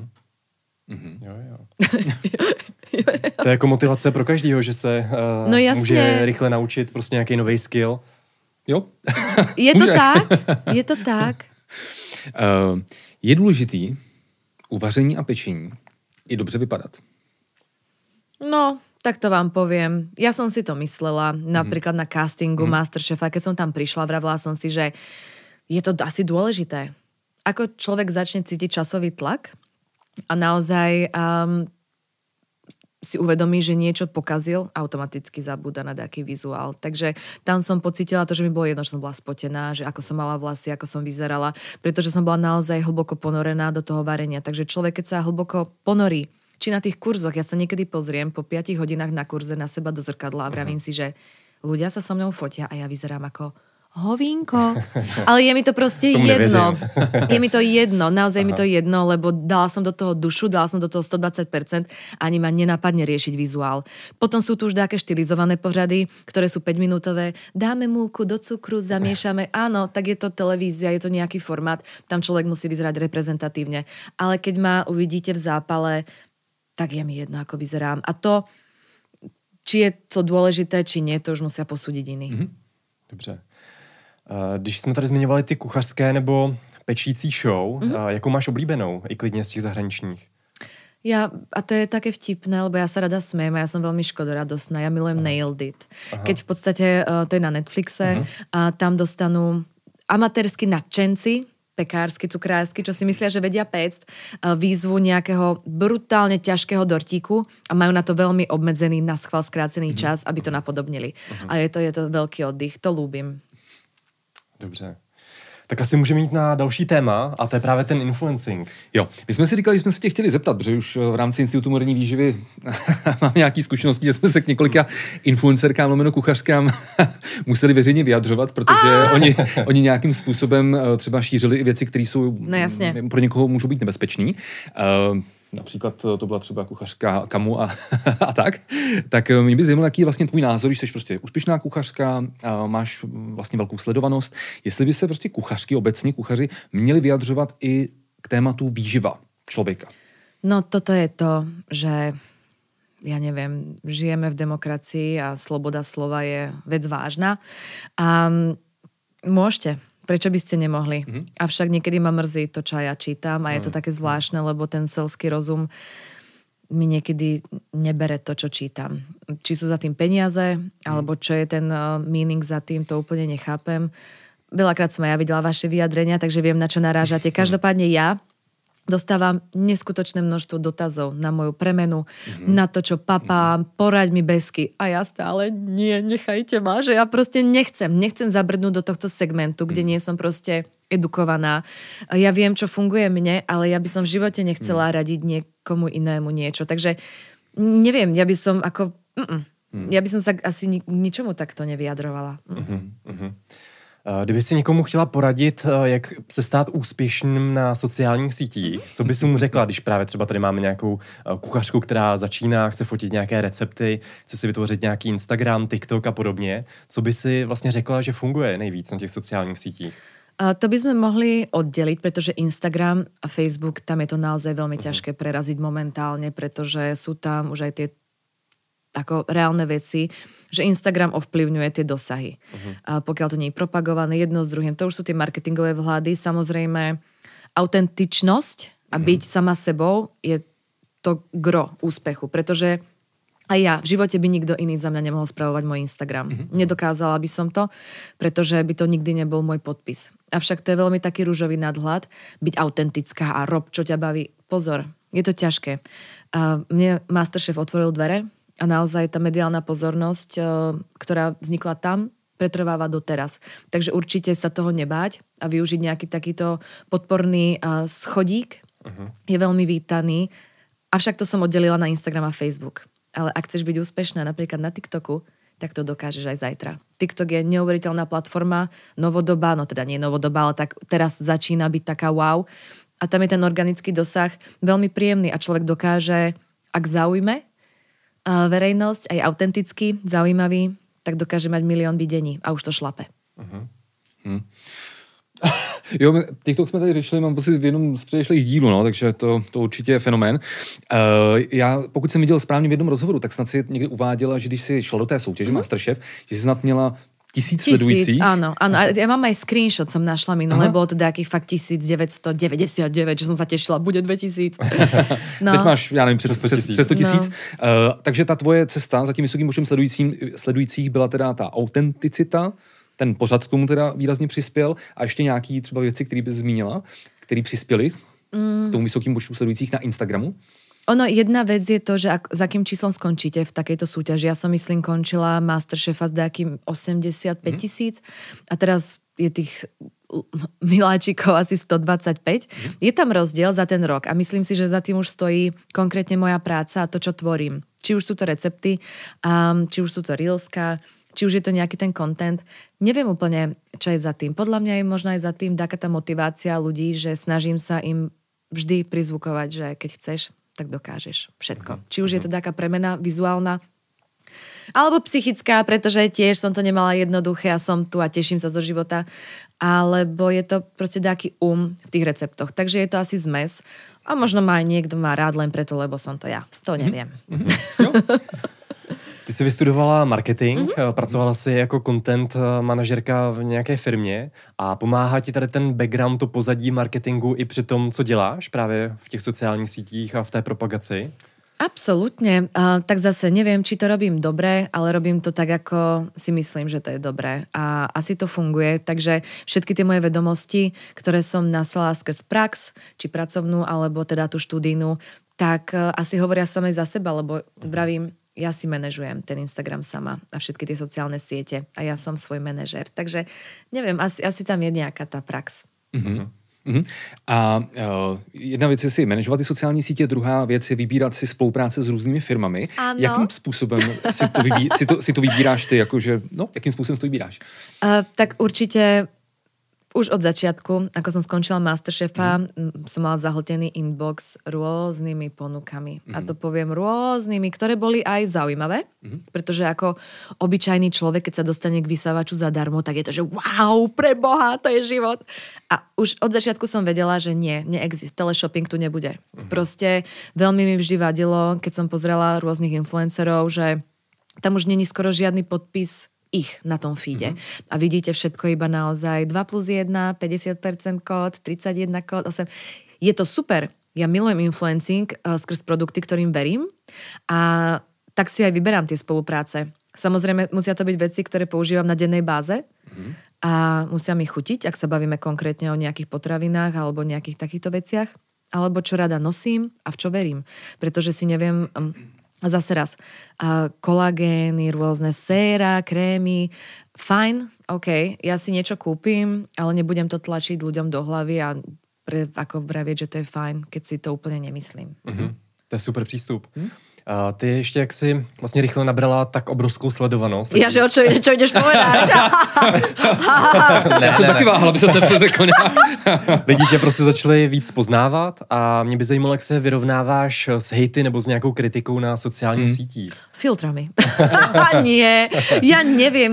Jo. To je jako motivace pro každýho, že se může rychle naučit prostě nějaký nový skill. Jo. Je to tak. Je důležitý u vaření a pečení i dobře vypadat. No, tak to vám poviem. Ja som si to myslela, napríklad na castingu Masterchefa, keď som tam prišla, vravila som si, že je to asi dôležité. Ako človek začne cítiť časový tlak a naozaj si uvedomí, že niečo pokazil, automaticky zabúda na nejaký vizuál. Takže tam som pocítila to, že mi bolo jedno, že som bola spotená, že ako som mala vlasy, ako som vyzerala, pretože som bola naozaj hlboko ponorená do toho varenia. Takže človek, keď sa hlboko ponorí, či na tých kurzoch, ja sa niekedy pozriem po 5 hodinách na kurze na seba do zrkadla a vravím si, že ľudia sa so mnou fotia a ja vyzerám ako hovínko. Ale je mi to proste jedno. Je mi to jedno, naozaj mi to jedno, lebo dala som do toho dušu, dala som do toho 120%, ani ma nenapadne riešiť vizuál. Potom sú tu už také štilizované pořady, ktoré sú 5-minútové. Dáme múku do cukru, zamiešame. Áno, tak je to televízia, je to nejaký formát. Tam človek musí vyzerať reprezentatívne. Ale keď ma uvidíte v zápale, tak je mi jedno, ako vyzerám. A to, či je to dôležité, či nie, to už musia posúdiť iní. Dobře. Když jsme tady zmiňovali ty kuchařské nebo pečící show, jakou máš oblíbenou, i klidně z těch zahraničních? A to je také vtipné, lebo ja sa rada smiem a ja som veľmi škodoradostná. Ja milujem Nailed It. Keď v podstate to je na Netflixe a tam dostanú amatérsky nadšenci, pekársky, cukrársky, čo si myslia, že vedia pécť, výzvu nejakého brutálne ťažkého dortíku a majú na to veľmi obmedzený, naschvál skrácený čas, aby to napodobnili. A je to veľký oddych, to ľúbim. Dobře. Tak asi můžeme jít na další téma a to je právě ten influencing. Jo, my jsme si říkali, že jsme se tě chtěli zeptat, protože už v rámci Institutu moderní výživy mám nějaké zkušenosti, že jsme se k několika influencerkám, lomeno kuchařkám museli veřejně vyjadřovat, protože oni nějakým způsobem třeba šířili i věci, které jsou pro někoho můžou být nebezpečný. Například to byla třeba kuchařka Kamu a tak. Tak mě by zajímalo, jaký je vlastně tvůj názor, když jsi prostě úspěšná kuchařka, máš vlastně velkou sledovanost. Jestli by se prostě kuchařky, obecně kuchaři, měli vyjadřovat i k tématu výživa člověka. No toto je to, že ja neviem, žijeme v demokracii a sloboda slova je vec vážna. A môžete. Prečo by ste nemohli? Avšak niekedy ma mrzí to, čo ja čítam a je to také zvláštne, lebo ten selský rozum mi niekedy nebere to, čo čítam. Či sú za tým peniaze, alebo čo je ten meaning za tým, to úplne nechápem. Veľakrát som aj ja videla vaše vyjadrenia, takže viem, na čo narážate. Každopádne ja dostávam neskutočné množstvo dotazov na moju premenu, na to, čo papám, poraď mi besky. A ja stále, nie, nechajte ma, že ja proste nechcem zabrnúť do tohto segmentu, kde nie som proste edukovaná. Ja viem, čo funguje mne, ale ja by som v živote nechcela radiť niekomu inému niečo. Takže neviem, ja by som ako... Ja by som sa asi ničomu takto nevyjadrovala. Kdyby si někomu chtěla poradit, jak se stát úspěšným na sociálních sítích, co by si mu řekla, když právě třeba tady máme nějakou kuchařku, která začíná, chce fotit nějaké recepty, chce si vytvořit nějaký Instagram, TikTok a podobně, co by si vlastně řekla, že funguje nejvíc na těch sociálních sítích? To by sme mohli oddeliť, pretože Instagram a Facebook, tam je to naozaj veľmi ťažké preraziť momentálne, pretože sú tam už aj tie ako reálne veci, že Instagram ovplyvňuje tie dosahy. A pokiaľ to nie je propagované jedno s druhým, to už sú tie marketingové vhľady. Samozrejme, autentičnosť a byť sama sebou je to gro úspechu, pretože aj ja, v živote by nikto iný za mňa nemohol spravovať môj Instagram. Nedokázala by som to, pretože by to nikdy nebol môj podpis. Avšak to je veľmi taký ružový nadhľad, byť autentická a rob, čo ťa baví. Pozor, je to ťažké. Mne Masterchef otvoril dvere a naozaj tá mediálna pozornosť, ktorá vznikla tam, pretrváva doteraz. Takže určite sa toho nebáť a využiť nejaký takýto podporný schodík je veľmi vítaný. Avšak to som oddelila na Instagram a Facebook. Ale ak chceš byť úspešná napríklad na TikToku, tak to dokážeš aj zajtra. TikTok je neuveriteľná platforma, novodobá, no teda nie novodobá, ale tak teraz začína byť taká wow. A tam je ten organický dosah veľmi príjemný a človek dokáže, ak zaujme verejnosť, aj autenticky zaujímavý, tak dokáže mať 1 000 000 videní a už to šlape. Jo, TikTok jsme tady řešili, mám pocit v jednom z předešlých dílů, no, takže to určitě je fenomén. Já, pokud jsem viděl správně v jednom rozhovoru, tak snad si někdy uváděla, že když si šla do té soutěže Masterchef, že si snad měla 1000 sledujících. Áno. A ja mám aj screenshot, som našla minule, bolo to nejakých fakt 1999, že som sa tešila, bude 2000. No. Teď máš, já nevím, přes 100 000. No. Takže ta tvoje cesta za tím vysokým počtem sledujících byla teda ta autenticita, ten pořad k tomu teda výrazně přispěl a ještě nějaký třeba věci, které bys zmínila, které přispěly k tomu vysokým počtu sledujících na Instagramu? Ono, jedna vec je to, že za akým číslom skončíte v takejto súťaži. Ja som, myslím, končila Masterchefa s nejakým 85 000 a teraz je tých miláčikov asi 125. Je tam rozdiel za ten rok a myslím si, že za tým už stojí konkrétne moja práca a to, čo tvorím. Či už sú to recepty, či už sú to reelska, či už je to nejaký ten content. Neviem úplne, čo je za tým. Podľa mňa je možno aj za tým taká tá motivácia ľudí, že snažím sa im vždy prizvukovať, že keď chceš, tak dokážeš všetko. Či už je to taká premena vizuálna, alebo psychická, pretože tiež som to nemala jednoduché a som tu a teším sa zo života, alebo je to proste taký v tých receptoch. Takže je to asi zmes. A možno ma aj niekto má rád len preto, lebo som to ja. To neviem. Ty jsi vystudovala marketing, pracovala jsi jako content manažerka v nějaké firmě a pomáhá ti tady ten background, to pozadí marketingu i při tom, co děláš právě v těch sociálních sítích a v té propagaci? Absolútne. Tak zase neviem, či to robím dobre, ale robím to tak, ako si myslím, že to je dobré. A asi to funguje. Takže všetky tie moje vedomosti, ktoré som naslala skrz prax, či pracovnú, alebo teda tú študijnú, tak asi hovoria samej za seba, lebo vravím, ja si manažujem ten Instagram sama a všetky tie sociálne siete a ja som svoj manažer. Takže neviem, asi tam je nejaká tá prax. A jedna věc je si manažovat ty sociální sítě, druhá věc je vybírat si spolupráce s různými firmami. Ano. Jakým způsobem si to vybíráš ty? Jakože, jakým způsobem si to vybíráš? Tak určite už od začiatku, ako som skončila Masterchefa, som mala zahltený inbox rôznymi ponukami. A to poviem rôznymi, ktoré boli aj zaujímavé, pretože ako obyčajný človek, keď sa dostane k vysávaču zadarmo, tak je to, že wow, preboha, to je život. A už od začiatku som vedela, že neexist, teleshopping tu nebude. Proste veľmi mi vždy vadilo, keď som pozrela rôznych influencerov, že tam už není skoro žiadny podpis ich na tom feede. A vidíte všetko iba naozaj 2+1, 50% kód, 31 kód, 8. Je to super. Ja milujem influencing skrz produkty, ktorým verím a tak si aj vyberám tie spolupráce. Samozrejme, musia to byť veci, ktoré používam na dennej báze a musia mi chutiť, ak sa bavíme konkrétne o nejakých potravinách alebo nejakých takýchto veciach. alebo čo rada nosím a v čo verím. Pretože si neviem, zase raz, kolagény, rôzne séra, krémy, fajn, OK, ja si niečo kúpim, ale nebudem to tlačiť ľuďom do hlavy a ako vravieť, že to je fajn, keď si to úplně nemyslím. To je super přístup. Ty ještě jak si vlastně rychle nabrala tak obrovskou sledovanost. Ja, že o čo ideš povedať? Já jsem taky váhal, aby ses nepřeřekl. Lidi tě prostě začali víc poznávat a mě by zajímalo, jak se vyrovnáváš s hejty nebo s nějakou kritikou na sociálních sítích. Filtrami. Nie, ja neviem,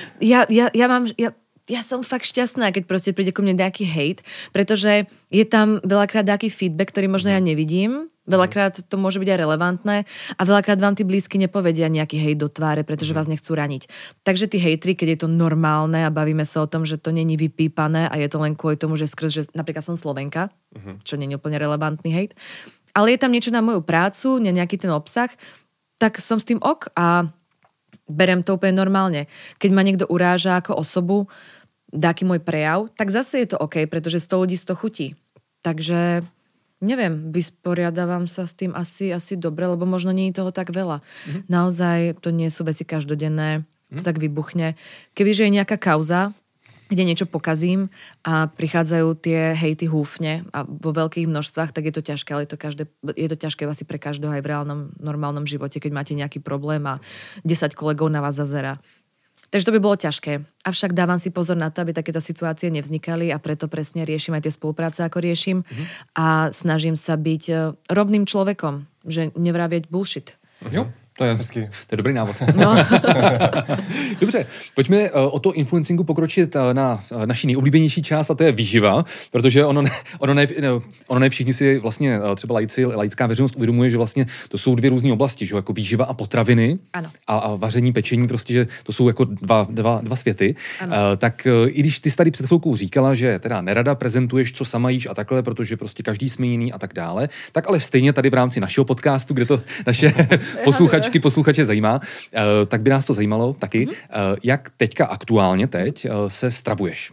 ja som fakt šťastná, keď proste príde ku mne nejaký hejt, pretože je tam veľakrát nejaký feedback, ktorý možno ja nevidím, veľakrát to môže byť aj relevantné a veľakrát vám tí blízky nepovedia nejaký hejt do tváre, pretože vás nechcú raniť. Takže tí hejtri, keď je to normálne a bavíme sa o tom, že to není vypípané a je to len kvôli tomu, že že napríklad som Slovenka, čo není úplne relevantný hejt, ale je tam niečo na moju prácu, nejaký ten obsah, tak som s tým ok a berem to úplne normálne. Keď ma niekto uráža ako osobu, dáky môj prejav, tak zase je to OK, pretože 100 ľudí 100 chutí. Takže, neviem, vysporiadavam sa s tým asi dobre, lebo možno nie je toho tak veľa. Naozaj to nie sú veci každodenné, to tak vybuchne. Kebyže je nejaká kauza, kde niečo pokazím a prichádzajú tie hejty húfne a vo veľkých množstvách, tak je to ťažké, ale je to ťažké asi pre každého aj v reálnom, normálnom živote, keď máte nejaký problém a 10 kolegov na vás zazerá. Takže to by bolo ťažké. Avšak dávam si pozor na to, aby takéto situácie nevznikali a preto presne riešim aj tie spolupráce, ako riešim a snažím sa byť rovným človekom, že nevravieť bullshit. Jo. To je dobrý návod. No. Dobře, pojďme o to influencingu pokročit na naší nejoblíbenější část a to je výživa, protože ono ne všichni si vlastně třeba laická veřejnost uvědomuje, že vlastně to jsou dvě různé oblasti, že jako výživa a potraviny a vaření, pečení, prostě, že to jsou jako dva světy. Tak i když ty jsi tady před chvilkou říkala, že teda nerada prezentuješ, co sama jíš a takhle, protože prostě každý jsme jiný a tak dále, tak ale stejně tady v rámci našeho podcastu, kde to naše posluchače zajímá, tak by nás to zajímalo taky. Jak teďka aktuálně se stravuješ?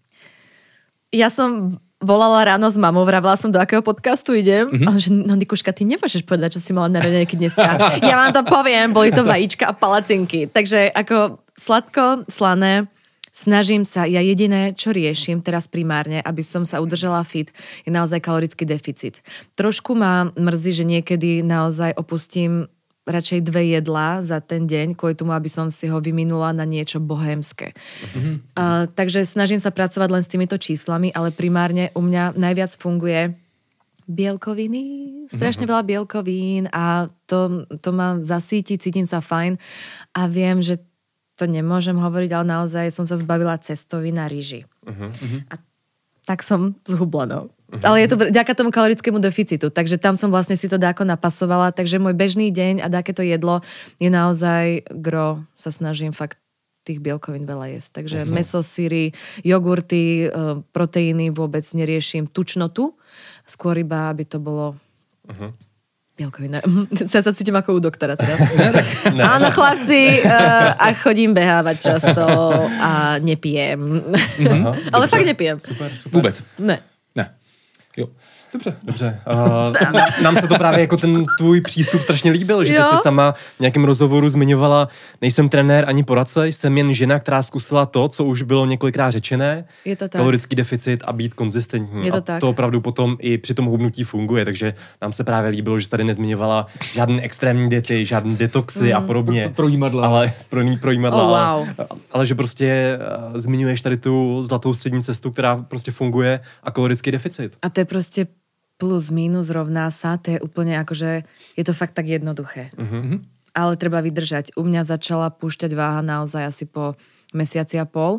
Ja som volala ráno s mamou, vravila som, do akého podcastu idem. A že, no Nikuška, ty nemôžeš povedať, čo si mala na raňajky dneska. Ja vám to poviem, boli to vajíčka a palacinky. Takže ako sladko, slané, snažím sa, ja jediné, čo riešim teraz primárne, aby som sa udržala fit, je naozaj kalorický deficit. Trošku ma mrzí, že niekedy naozaj opustím radšej 2 jedlá za ten deň, kvôli tomu, aby som si ho vyminula na niečo bohémske. Takže snažím sa pracovať len s týmito číslami, ale primárne u mňa najviac funguje bielkoviny, strašne veľa bielkovín a to ma zasíti, cítim sa fajn a viem, že to nemôžem hovoriť, ale naozaj som sa zbavila cestovín na ryži. A tak som zhubla, no. Ale je to vďaka tomu kalorickému deficitu, takže tam som vlastne si to dáko napasovala, takže môj bežný deň a dáketo jedlo je naozaj gro, sa snažím fakt tých bielkovín veľa jesť. Takže mäso, syry, jogurty, proteíny vôbec neriešim, tučnotu, skôr iba, aby to bolo bielkovina. Ja sa cítim ako u doktora teraz. Áno, chlapci, a chodím behávať často a nepijem. Ale fakt nepijem. Super. Vůbec? Ne. Jo. Dobře. Nám se to právě jako ten tvůj přístup strašně líbil, že ty jsi sama v nějakém rozhovoru zmiňovala, nejsem trenér ani poradce, jsem jen žena, která zkusila to, co už bylo několikrát řečené, je to tak. Kalorický deficit a být konzistentní. A tak. to opravdu potom i při tom hubnutí funguje, takže nám se právě líbilo, že tady nezmiňovala žádné extrémní diety, žádné detoxy a podobně. Projímadla. Ale projímadla. Oh, wow. Ale že prostě zmiňuješ tady tu zlatou střední cestu, která prostě funguje a kalorický deficit. A to je prostě plus, minus, rovná sa, to je úplne akože, je to fakt tak jednoduché. Ale treba vydržať. U mňa začala púšťať váha naozaj asi po mesiaci a pol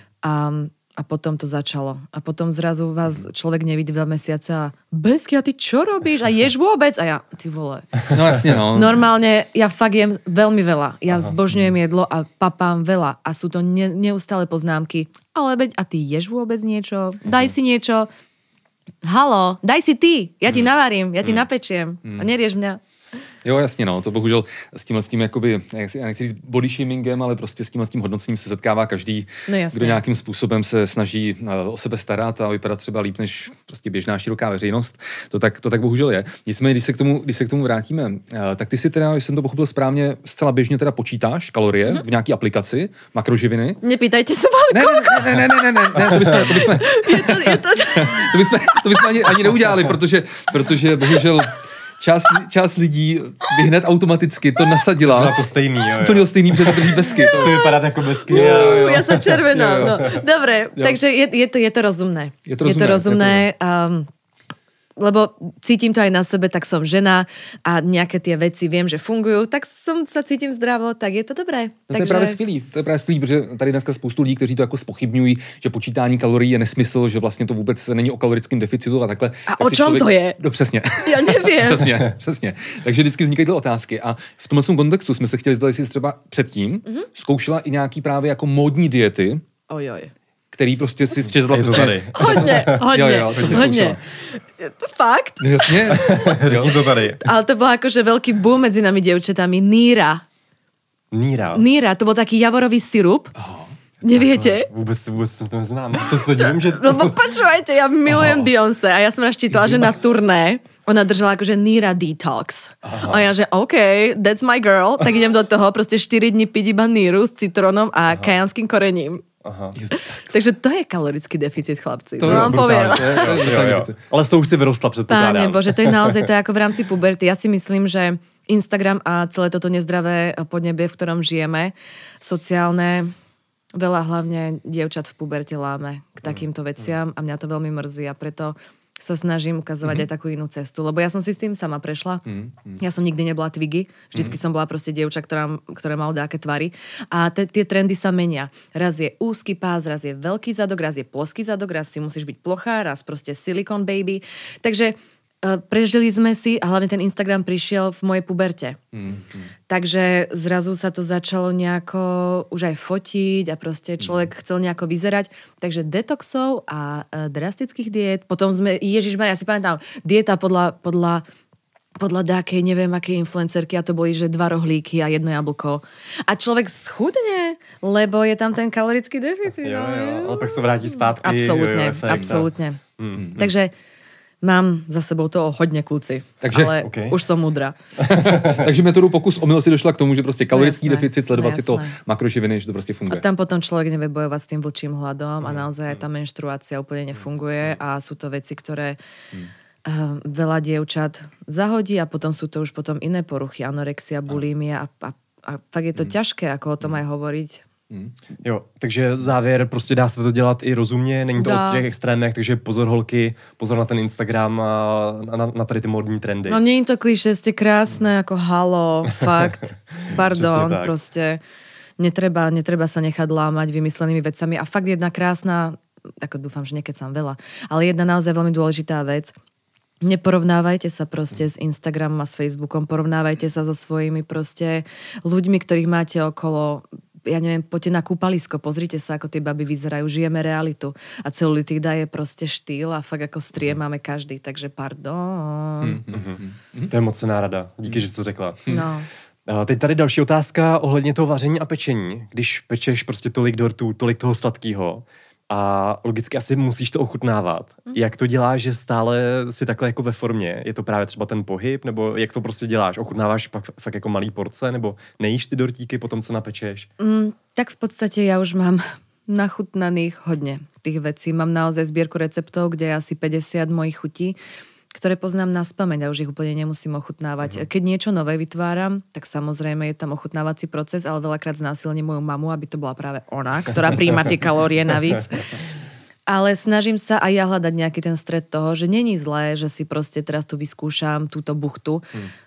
a potom to začalo. A potom zrazu vás človek nevidí 2 mesiace a Besky, a ty čo robíš? A ješ vôbec? A ja, ty vole. No jasne, no. Normálne, ja fakt jem veľmi veľa. Ja zbožňujem jedlo a papám veľa. A sú to neustále poznámky. Ale veď, a ty ješ vôbec niečo? Daj si niečo. Halo, daj si ty, ja ti navarím, ja ti napečiem a nerieš mňa. Jo, jasně, no, to bohužel s tím jakoby, já nechci říct body shamingem, ale prostě s tím hodnocením se setkává každý, kdo nějakým způsobem se snaží o sebe starat a vypadat třeba líp než prostě běžná široká veřejnost. To tak bohužel je. Nicméně, když se k tomu vrátíme, tak ty si teda, jestli jsem to pochopil správně, zcela běžně teda počítáš kalorie v nějaký aplikaci, makroživiny. Nepýtajte se, Ne, to bychom ani neudělali, protože bohužel část lidí by hned automaticky to nasadila. To stejný, jo. Úplně to stejný, protože to drží besky. To vypadá jako besky. Ja som červená. No. Dobre, takže je to rozumné. Je to rozumné. Lebo cítim to aj na sebe, tak som žena a nejaké tie veci viem, že fungujú, tak sa cítim zdravo, tak je to dobré. No, to je právě skvělý, protože tady dneska spoustu lidí, kteří to jako zpochybňují, že počítání kalorií je nesmysl, že vlastně to vůbec není o kalorickém deficitu a takhle. A tak o čom to je? No, přesně. Já nevím. Přesně. Takže vždycky vznikají ty otázky a v tomhle kontextu jsme se chtěli zdat, jestli třeba předtím zkoušela i nějaký právě jako módní diety. Ojoj. Který prostě si přečetla prostě... Hodně. Je to fakt? Jasně. Řekni to tady. Ale to bol akože veľký boom medzi nami dievčatami. Níra, to bol taký javorový sirup. Neviete? Vůbec to neznám. To se divím, že... No počúvajte, ja milujem Beyoncé a ja som raz čítala, že na turné ona držala akože Níra detox. A ja, že OK, that's my girl, tak idem do toho, proste 4 dní piť iba Níru s citrónom a kajanským korením. Aha. Takže to je kalorický deficit, chlapci. To vám poviem. Ale z toho už si vyrostla, předpokládám. Páne Bože, to je naozaj to je ako v rámci puberty. Ja si myslím, že Instagram a celé toto nezdravé podnebie, v ktorom žijeme, sociálne, veľa hlavne dievčat v puberte láme k takýmto veciam a mňa to veľmi mrzí a preto sa snažím ukazovať aj takú inú cestu, lebo ja som si s tým sama prešla. Ja som nikdy nebola Twiggy, vždycky som bola proste dievča, ktoré malo dáke tvary. A tie trendy sa menia. Raz je úzky pás, raz je veľký zadok, raz je ploský zadok, raz si musíš byť plochá, raz proste silicone baby. Takže prežili sme si a hlavne ten Instagram prišiel v mojej puberte. Takže zrazu sa to začalo nejako už aj fotiť a proste človek chcel nejako vyzerať. Takže detoxov a drastických diét. Potom sme, Ježišmaria, si pamätám, dieta podľa dákej, neviem akej influencerky a to boli, že 2 rohlíky a 1 jablko. A človek schudne, lebo je tam ten kalorický deficit. Jo, ale pak sa vráti zpátky. Absolútne. Takže mám za sebou toho hodně, kluci, ale už som mudra. Takže metodu pokus omyl si došla k tomu, že prostě kalorický deficit, sledovat si to makroživiny, že to prostě funguje. A tam potom človek nevie bojovať s tým vlčím hladom a naozaj tá menštruácia úplne nefunguje a sú to veci, ktoré veľa dievčat zahodí a potom sú to už potom iné poruchy, anorexia, bulimia a fakt je to ťažké, ako o tom aj hovoriť. Jo, takže závěr, prostě dá se to dělat i rozumně, není to o těch extrémech, takže pozor holky, pozor na ten Instagram a na tady ty modní trendy. No není to klišé, ste krásne, ako halo, fakt, pardon, prostě netreba sa nechať lámať vymyslenými vecami a fakt jedna krásna, ako dúfam, že nekecam veľa, ale jedna naozaj veľmi dôležitá vec, neporovnávajte sa proste s Instagramom a s Facebookom, porovnávajte sa so svojimi proste ľuďmi, ktorých máte okolo. Ja neviem, poďte na kúpalisko, pozrite sa, ako tie baby vyzerajú, žijeme realitu. A celulitída je proste štýl a fakt ako strie máme každý, takže pardon. To je mocná rada, díky, že jsi to řekla. No. Teď tady další otázka ohledně toho vaření a pečení. Když pečeš prostě tolik dortů, tolik toho sladkého, a logicky asi musíš to ochutnávat. Jak to děláš, že stále si takhle jako ve formě? Je to právě třeba ten pohyb? Nebo jak to prostě děláš? Ochutnáváš fakt jako malý porce? Nebo nejíš ty dortíky po tom, co napečeš? Tak v podstate ja už mám nachutnaných hodne tých vecí. Mám naozaj zbierku receptov, kde je asi 50 mojich chutí, ktoré poznám naspamäť a už ich úplne nemusím ochutnávať. Keď niečo nové vytváram, tak samozrejme je tam ochutnávací proces, ale veľakrát znásilním moju mamu, aby to bola práve ona, ktorá príjma tie kalórie navíc. Ale snažím sa aj ja hľadať nejaký ten stred toho, že není zlé, že si proste teraz tu vyskúšam túto buchtu,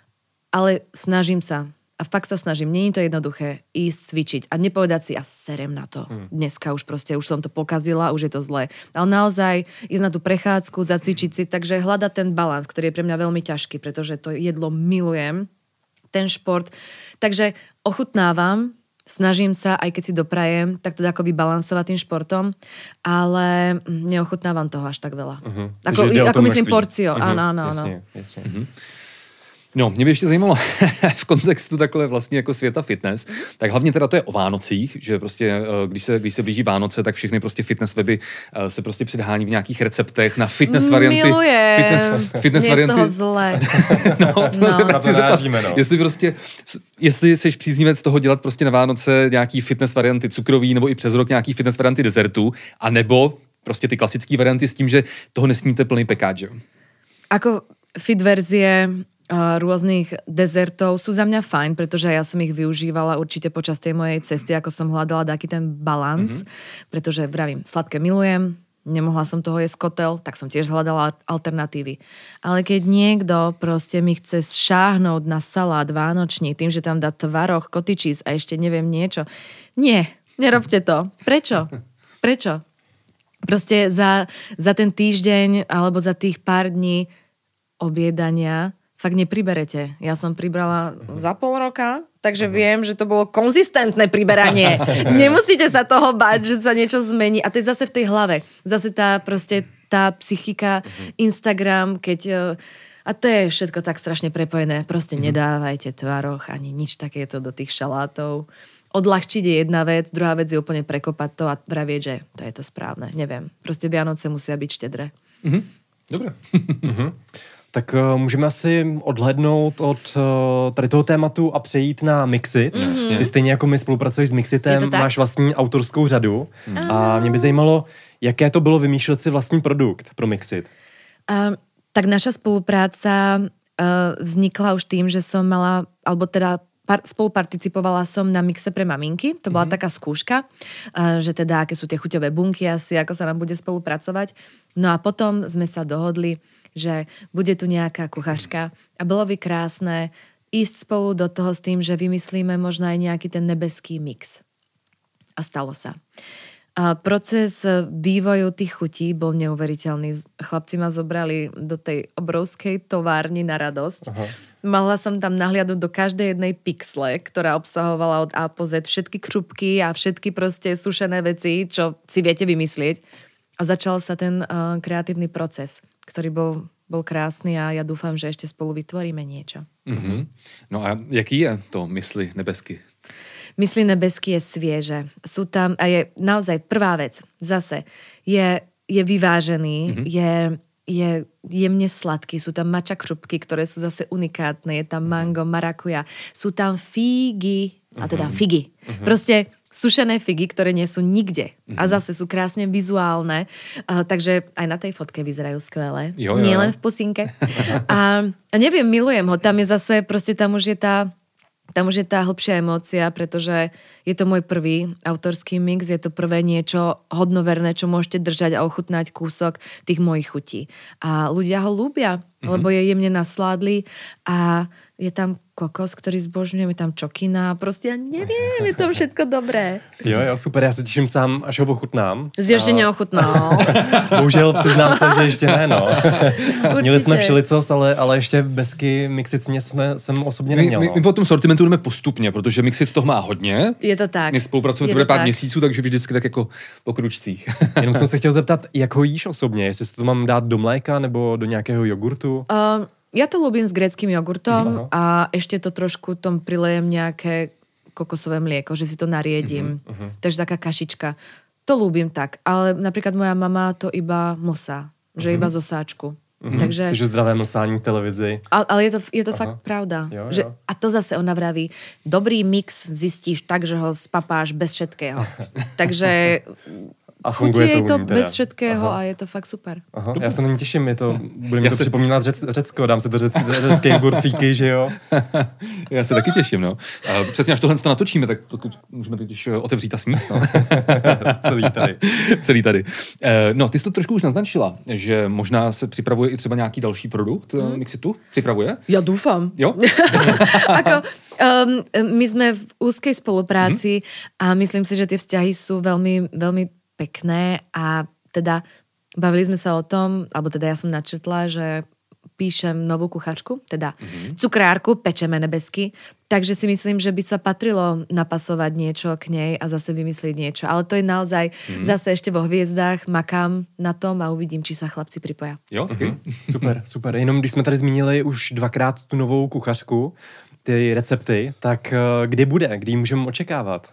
ale snažím sa. A fakt sa snažím, nie je to jednoduché ísť cvičiť a nepovedať si, ja serem na to. Dneska už som to pokazila, už je to zlé. Ale naozaj ísť na tú prechádzku, zacvičiť si, takže hľadať ten balans, ktorý je pre mňa veľmi ťažký, pretože to jedlo milujem, ten šport. Takže ochutnávam, snažím sa, aj keď si doprajem, tak to ako vybalansovať tým športom, ale neochutnávam toho až tak veľa. Ako myslím porcio. Áno. Jasne. No, mě by ještě zajímalo v kontextu takhle vlastně jako světa fitness, tak hlavně teda to je o Vánocích, že prostě když se blíží Vánoce, tak všechny prostě fitness weby se prostě předhání v nějakých receptech na fitness varianty. Fitness varianty. Je z toho zle. Jestli jsi příznivec toho dělat prostě na Vánoce nějaký fitness varianty cukrový nebo i přes rok nějaký fitness varianty dezertů, a nebo prostě ty klasické varianty s tím, že toho nesníte plný pekáč, jo? Ako fit verzie rôznych dezertov sú za mňa fajn, pretože ja som ich využívala určite počas tej mojej cesty, ako som hľadala taký ten balans, pretože vravím, sladké milujem, nemohla som toho jesť kotel, tak som tiež hľadala alternatívy. Ale keď niekto proste mi chce šáhnuť na salát vánočný tým, že tam dá tvaroh, kotičís a ešte neviem niečo, nie, nerobte to. Prečo? Proste za ten týždeň alebo za tých pár dní objedania fakt nepriberete. Ja som pribrala za pol roka, takže viem, že to bolo konzistentné priberanie. Nemusíte sa toho báť, že sa niečo zmení. A to je zase v tej hlave. Zase tá psychika, Instagram, a to je všetko tak strašne prepojené. Proste nedávajte tvaroh ani nič takéto do tých šalátov. Odľahčiť je jedna vec, druhá vec je úplne prekopať to a vravieť, že to je to správne. Neviem. Proste Vianoce musia byť štedré. Dobre. Tak můžeme asi odhlednout od tady toho tématu a přejít na Mixit. Ty stejně jako my spolupracuješ s Mixitem, máš vlastní autorskou řadu. A mě by zajímalo, jaké to bylo vymýšlet si vlastní produkt pro Mixit. Tak naša spolupráca vznikla už tým, že som mala, alebo teda spoluparticipovala som na mixe pre maminky. To bola taká skúška, že teda aké sú tie chuťové bunky asi, ako sa nám bude spolupracovať. No a potom sme sa dohodli, že bude tu nejaká kuchačka a bolo by krásne ísť spolu do toho s tým, že vymyslíme možno aj nejaký ten nebeský mix. A stalo sa. A proces vývoju tých chutí bol neuveriteľný. Chlapci ma zobrali do tej obrovskej továrni na radosť. Aha. Mala som tam nahliadnúť do každej jednej pixle, ktorá obsahovala od A po Z všetky krupky a všetky proste sušené veci, čo si viete vymyslieť. A začal sa ten kreatívny proces, ktorý bol krásny a ja dúfam, že ešte spolu vytvoríme niečo. No a jaký je to Mysli nebesky? Mysli nebesky je svieže. Sú tam, a je naozaj prvá vec, zase, je vyvážený, je jemne sladký, sú tam matcha krupky, ktoré sú zase unikátne, je tam mango, marakuja, sú tam figy, a teda figy. Proste sušené figy, ktoré nie sú nikde. A zase sú krásne vizuálne, takže aj na tej fotke vyzerajú skvelé. Nie len v pusinke. A neviem, milujem ho, tam je zase, proste tam už je tá hlbšia emócia, pretože je to môj prvý autorský mix, je to prvé niečo hodnoverné, čo môžete držať a ochutnať kúsok tých mojich chutí. A ľudia ho ľúbia, lebo je jemne nasládlý a je tam kokos, ktorý zbožňujem, je tam čokina, prostě ja neviem, je to všetko dobré. Jo, super, já se těším sám, až ho ochutnám. Jsi ještě neochutnal. Bohužel přiznám se, že ještě ne, no. Měli jsme všelicos, ale ještě bezky Mixit jsem osobně neměl. My po tom sortimentu jdeme postupně, protože Mixit toho má hodně. Je to tak. My spolupracujeme teprve pár měsíců, takže vždycky tak jako po kručcích. Jenom jsem se chtěl zeptat, jak ho jíš osobně, jestli si to mám dát do mléka nebo do nějakého jogurtu? Ja to ľúbim s gréckým jogurtom a ešte to trošku tom prilejem nejaké kokosové mlieko, že si to nariedím. Takže taká kašička. To ľúbim tak, ale napríklad moja mama to iba mlsá, že iba z osáčku. Takže zdravé mlsání v televizi. Ale je to fakt pravda. Jo. Že, a to zase ona vraví, dobrý mix zistíš tak, že ho spapáš bez všetkého. Takže a funguje je to teda bez všetkého a je to fakt super. Aha, já se na ní těším, bude mi to připomínat Řecko, dám se to řecký jogurt fíky, že jo? Já se taky těším, no. Přesně až tohle to natočíme, tak to můžeme teď otevřít a sníst, no. Celý tady. No, ty jsi to trošku už naznačila, že možná se připravuje i třeba nějaký další produkt Mixitu? Připravuje? Ja dúfam. Jo? My sme v úzkej spolupráci a myslím si, že tie vzťahy sú veľmi, veľmi pekné a teda bavili sme sa o tom, alebo teda ja som načetla, že píšem novú kuchačku, teda cukrárku, pečeme nebesky, takže si myslím, že by sa patrilo napasovať niečo k nej a zase vymyslieť niečo. Ale to je naozaj zase ešte vo hviezdách, makám na tom a uvidím, či sa chlapci pripoja. Jo, Super, super. Jenom když jsme tady zmínili už 2krát tu novou kuchařku, ty recepty, tak kdy bude? Kdy ji můžeme očekávat?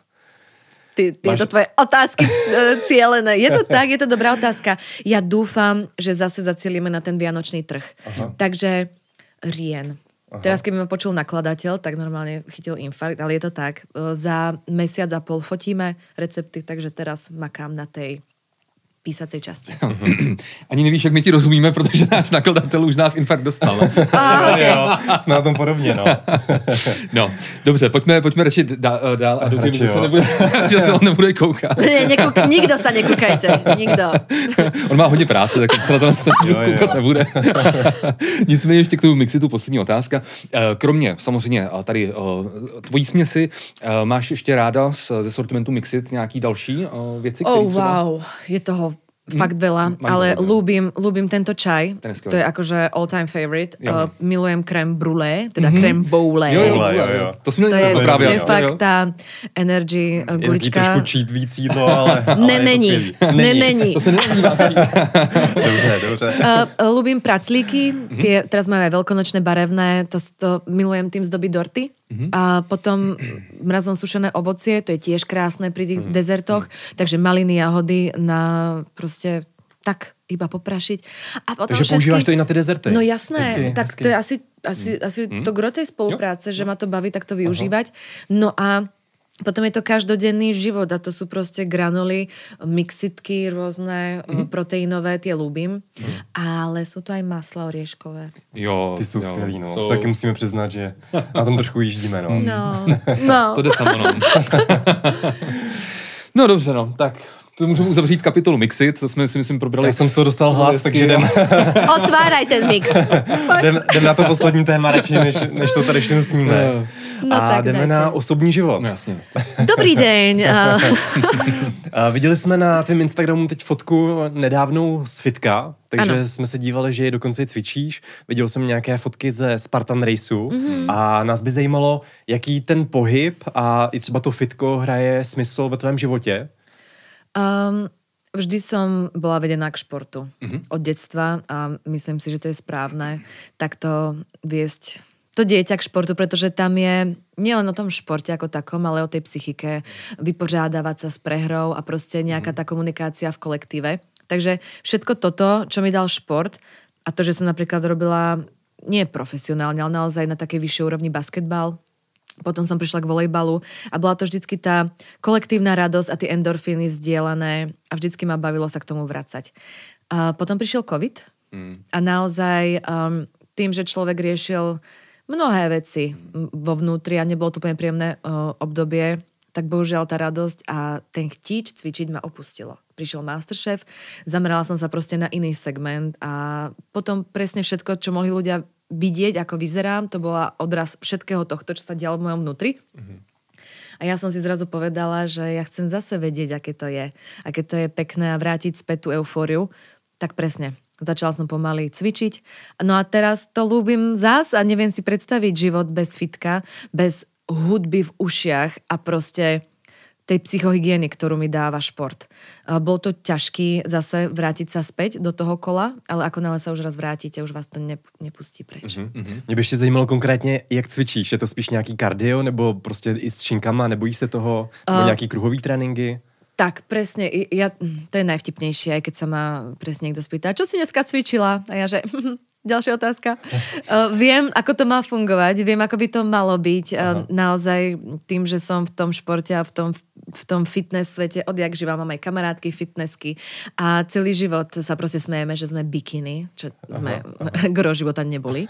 Tieto tvoje otázky cielené. Je to tak, je to dobrá otázka. Ja dúfam, že zase zacielíme na ten vianočný trh. Aha. Takže říjen. Aha. Teraz, keby ma počul nakladateľ, tak normálne chytil infarkt, ale je to tak. Za mesiac a pol fotíme recepty, takže teraz makám na tej písacej časti. Ani nevíš, jak my ti rozumíme, protože náš nakladatel už z nás infarkt dostal. Okay. Jo, jsme na tom podobně, no. No, dobře, pojďme radši dál a doufám, že se on nebude koukat. Nikdo sa nekúkajte, nikdo. On má hodně práce, tak se na to koukat nebude. Nicméně ještě k tomu Mixitu poslední otázka. Kromě samozřejmě tady tvojí směsi, máš ještě ráda ze sortimentu Mixit nějaký další věci? Wow, je toho fakt veľa, ale ľúbim tento čaj. To je akože all time favorite. Milujem crème brûlée, teda crème boule. Jo. To jsme měli právě. To je fakt ta energy gulička. Je trošku cheat víc jídlo, ale není. To se nenazývá. Dobře. Ľúbim praclíky, teraz máme veľkonočné barevné, to milujem tým zdoby dorty. A potom mrazom sušené ovocie, to je tiež krásne pri tých dezertoch, takže maliny, jahody na proste tak iba poprašiť. A potom takže používáš to i na ty dezerty? No jasné, tak to je asi to gro tej spolupráce, že ma to baví takto využívať. No a potom je to každodenný život a to sú proste granuly, mixitky rôzne, proteínové, tie ľúbim. Ale sú to aj masla orieškové. Jo. Ty sú skvělý, no. So... Taky musíme přiznat, že na tom trošku jíždíme, no. No. To jde samo, no. No dobře, no. Tak to můžeme uzavřít kapitolu Mixit, co jsme si myslím probrali. Já jsem z toho dostal hlad, takže jdem. Otváraj ten mix. jdem na to poslední téma radši, než to tady všechno sníme. No, a jdeme dajte na osobní život. No, jasně. Dobrý deň. Viděli jsme na tvém Instagramu teď fotku nedávnou z fitka, takže ano. jsme se dívali, že je dokonce i cvičíš. Viděl jsem nějaké fotky ze Spartan Raceu a nás by zajímalo, jaký ten pohyb a i třeba to fitko hraje smysl ve tvém životě. Vždy som bola vedená k športu od detstva a myslím si, že to je správne takto viesť to dieťa k športu, pretože tam je nielen o tom športe ako takom, ale o tej psychike, vypořádávať sa s prehrou a proste nejaká tá komunikácia v kolektíve. Takže všetko toto, čo mi dal šport a to, že som napríklad robila nie profesionálne, ale naozaj na takej vyššej úrovni basketbal. Potom som prišla k volejbalu a bola to vždycky tá kolektívna radosť a tie endorfíny zdieľané a vždycky ma bavilo sa k tomu vracať. A potom prišiel COVID a naozaj tým, že človek riešil mnohé veci vo vnútri a nebolo to úplne príjemné obdobie, tak bohužiaľ tá radosť a ten chtíč cvičiť ma opustilo. Prišiel Masterchef, zamerala som sa proste na iný segment a potom presne všetko, čo mohli ľudia vidieť, ako vyzerám, to bola odraz všetkého tohto, čo sa dialo v mojom vnútri. A ja som si zrazu povedala, že ja chcem zase vedieť, aké to je pekné a vrátiť späť tú eufóriu. Tak presne, začala som pomaly cvičiť. No a teraz to ľúbim zás a neviem si predstaviť život bez fitka, bez hudby v ušiach a proste tej psychohygieny, ktorú mi dáva šport. Bol to ťažký zase vrátiť sa späť do toho kola, ale ako náhle sa už raz vrátite, už vás to nepustí preč. Mě by ještě zajímalo konkrétně, jak cvičíš. Je to spíš nějaký kardio, nebo prostě i s činkama, nebojíš se toho, nebo nějaký kruhový tréninky? Tak, presne. To je najvtipnejšie, aj keď sa ma presne niekto spýta, čo si dneska cvičila? A ja, že... Ďalšia otázka. Viem, ako to má fungovať, viem, ako by to malo byť. Naozaj tým, že som v tom športe a v tom fitness svete, odjak živa mám aj kamarátky, fitnessky a celý život sa proste smejeme, že sme bikiny, čo sme gro života neboli.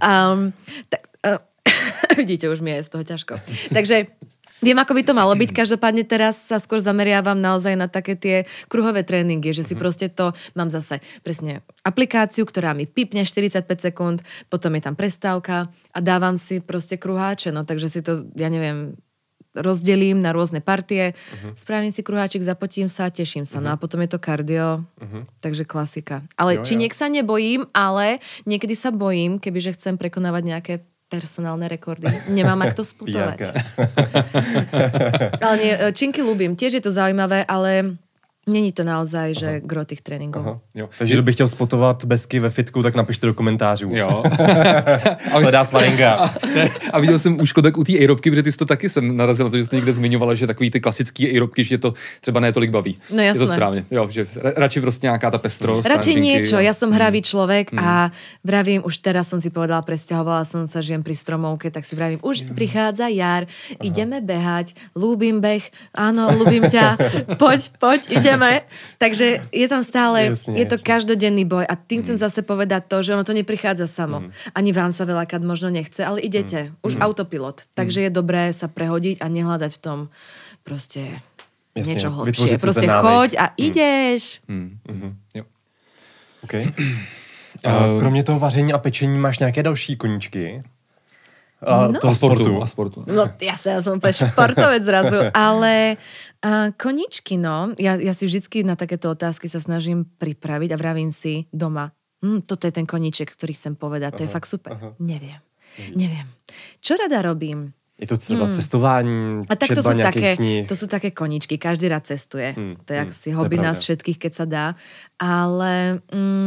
Vidíte, už mi je z toho ťažko. Takže viem, ako by to malo byť. Každopádne teraz sa skôr zameriavam naozaj na také tie kruhové tréningy, že si proste to, mám zase presne aplikáciu, ktorá mi pipne 45 sekúnd, potom je tam prestávka a dávam si proste kruháče, no takže si to, ja neviem, rozdelím na rôzne partie, spravím si kruháčik, zapotím sa a teším sa. No a potom je to kardio, takže klasika. Ale činiek sa nebojím, ale niekedy sa bojím, kebyže chcem prekonávať nejaké personálne rekordy. Nemám ak to sputovať. Ale nie, činky ľúbim. Tiež je to zaujímavé, ale není to naozaj, že gro těch tréninků. Takže kdybych chtěl spotovat besky ve fitku, tak napište do komentářů. Jo. Hledá Smaringa. A viděl jsem už Klobek u té aerobky, protože ty jsi to taky jsem narazil na to, že jsi někde zmiňovala, že takový ty klasický aerobky, že to třeba ne tolik baví. No jasné. Je to správně. Jo, že radši prostě nějaká ta pestrost. Radšej niečo. Ja som hravý človek a vravím, už teraz som si povedala, presťahovala som sa, žijem pri Stromovke, tak si vravím, už prichádza jar, ideme behať, ľúbim beh, áno, ľúbim ťa, poď, ideme. Takže je tam stále, je to každodenný boj a tým chcem zase povedať to, že ono to neprichádza samo. Ani vám sa veľakrát možno nechce, ale idete. Už autopilot. Takže je dobré sa prehodiť a nehľadať v tom proste niečo hlbšie. Proste choď a ideš. Jo. Okay. Kromě toho vaření a pečení máš nějaké další koníčky? A sportu. No jasne, ja som úplne športovec zrazu, ale koníčky, no. Ja si vždycky na takéto otázky sa snažím pripraviť a vravím si doma, toto je ten koníček, ktorý chcem povedať, to je fakt super. Neviem. Čo rada robím? Je to třeba cestování, a tak četba nějakých knih? To sú také koníčky, každý rád cestuje. To je asi hobby nás všetkých, keď sa dá. Ale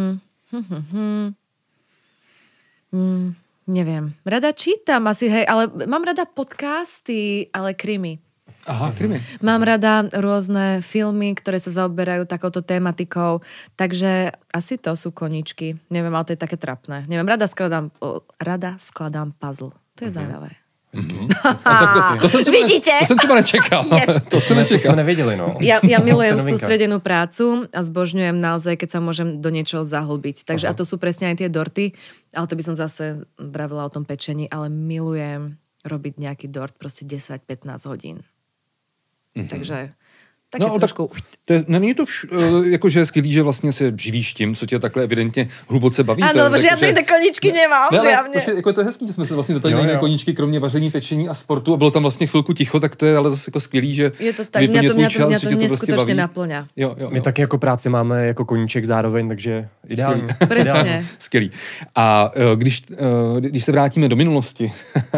neviem. Rada čítam asi, hej, ale mám rada podcasty, ale krimi. Aha, krimi. Mám rada rôzne filmy, ktoré sa zaoberajú takouto tématikou, takže asi to sú koníčky. Neviem, ale to je také trapné. Neviem, rada skladám puzzle. To je zaujímavé. To jsem třeba nečekal. Yes. To jsme nevěděli, no. Ja milujem sústredenú prácu a zbožňujem naozaj, keď sa môžem do niečoho zahlbiť. Takže a to sú presne aj tie dorty, ale to by som zase vravila o tom pečení, ale milujem robiť nejaký dort proste 10-15 hodín. Takže taky trošku... Není to jakože skvělý, že vlastně se živíš tím, co tě takhle evidentně hluboce baví. Ano, protože já ty koníčky nemám, zjavně. Jako je to hezký, že jsme se vlastně dotkli na koníčky, kromě vaření, pečení a sportu a bylo tam vlastně chvilku ticho, tak to je ale zase jako skvělý, že je to tak, mě to neskutočně naplňá. Jo. My taky jako práci máme jako koníček zároveň, takže ideální. Přesně. Skvělý. A když se vrátíme do minulosti,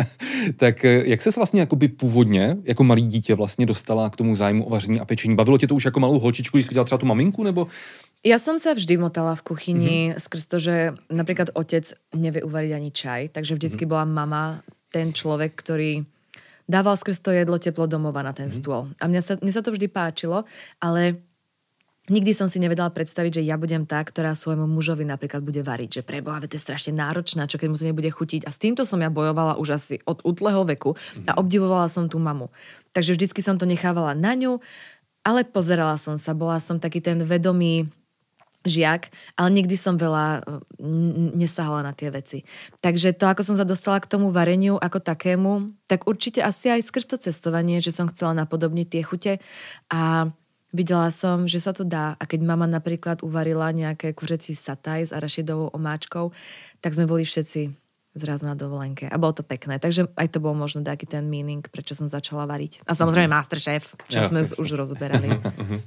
tak jak ses vlastně jakoby původně, jako malý dítě vlastně dostala k tomu zájmu o vaření a pečení? Bavilo tě to už jako malou holčičku, když jsi viděla třeba tu maminku, nebo? Ja som sa vždy motala v kuchyni skrz to, že napríklad otec nevie uvariť ani čaj, takže vždycky bola mama ten človek, ktorý dával skrz to jedlo teplo domova na ten stôl. A mne sa to vždy páčilo, ale nikdy som si nevedela predstaviť, že ja budem tá, ktorá svojmu mužovi napríklad bude variť, že preboha, to je strašne náročná, čo keď mu to nebude chutiť. A s týmto som ja bojovala už asi od útleho veku a obdivovala som tú mamu. Takže vždycky som to nechávala na ňu, ale pozerala som sa, bola som taký ten vedomý žiak, ale nikdy som veľa nesahala na tie veci. Takže to, ako som sa dostala k tomu vareniu ako takému, tak určite asi aj skrz to cestovanie, že som chcela napodobniť tie chute a videla som, že sa to dá. A keď mama napríklad uvarila nejaké kuřecí sataj s arašidovou omáčkou, tak sme boli všetci zrazu na dovolenke. A bolo to pekné. Takže aj to bol možno taký ten meaning, prečo som začala variť. A samozrejme Masterchef, čo sme už rozoberali.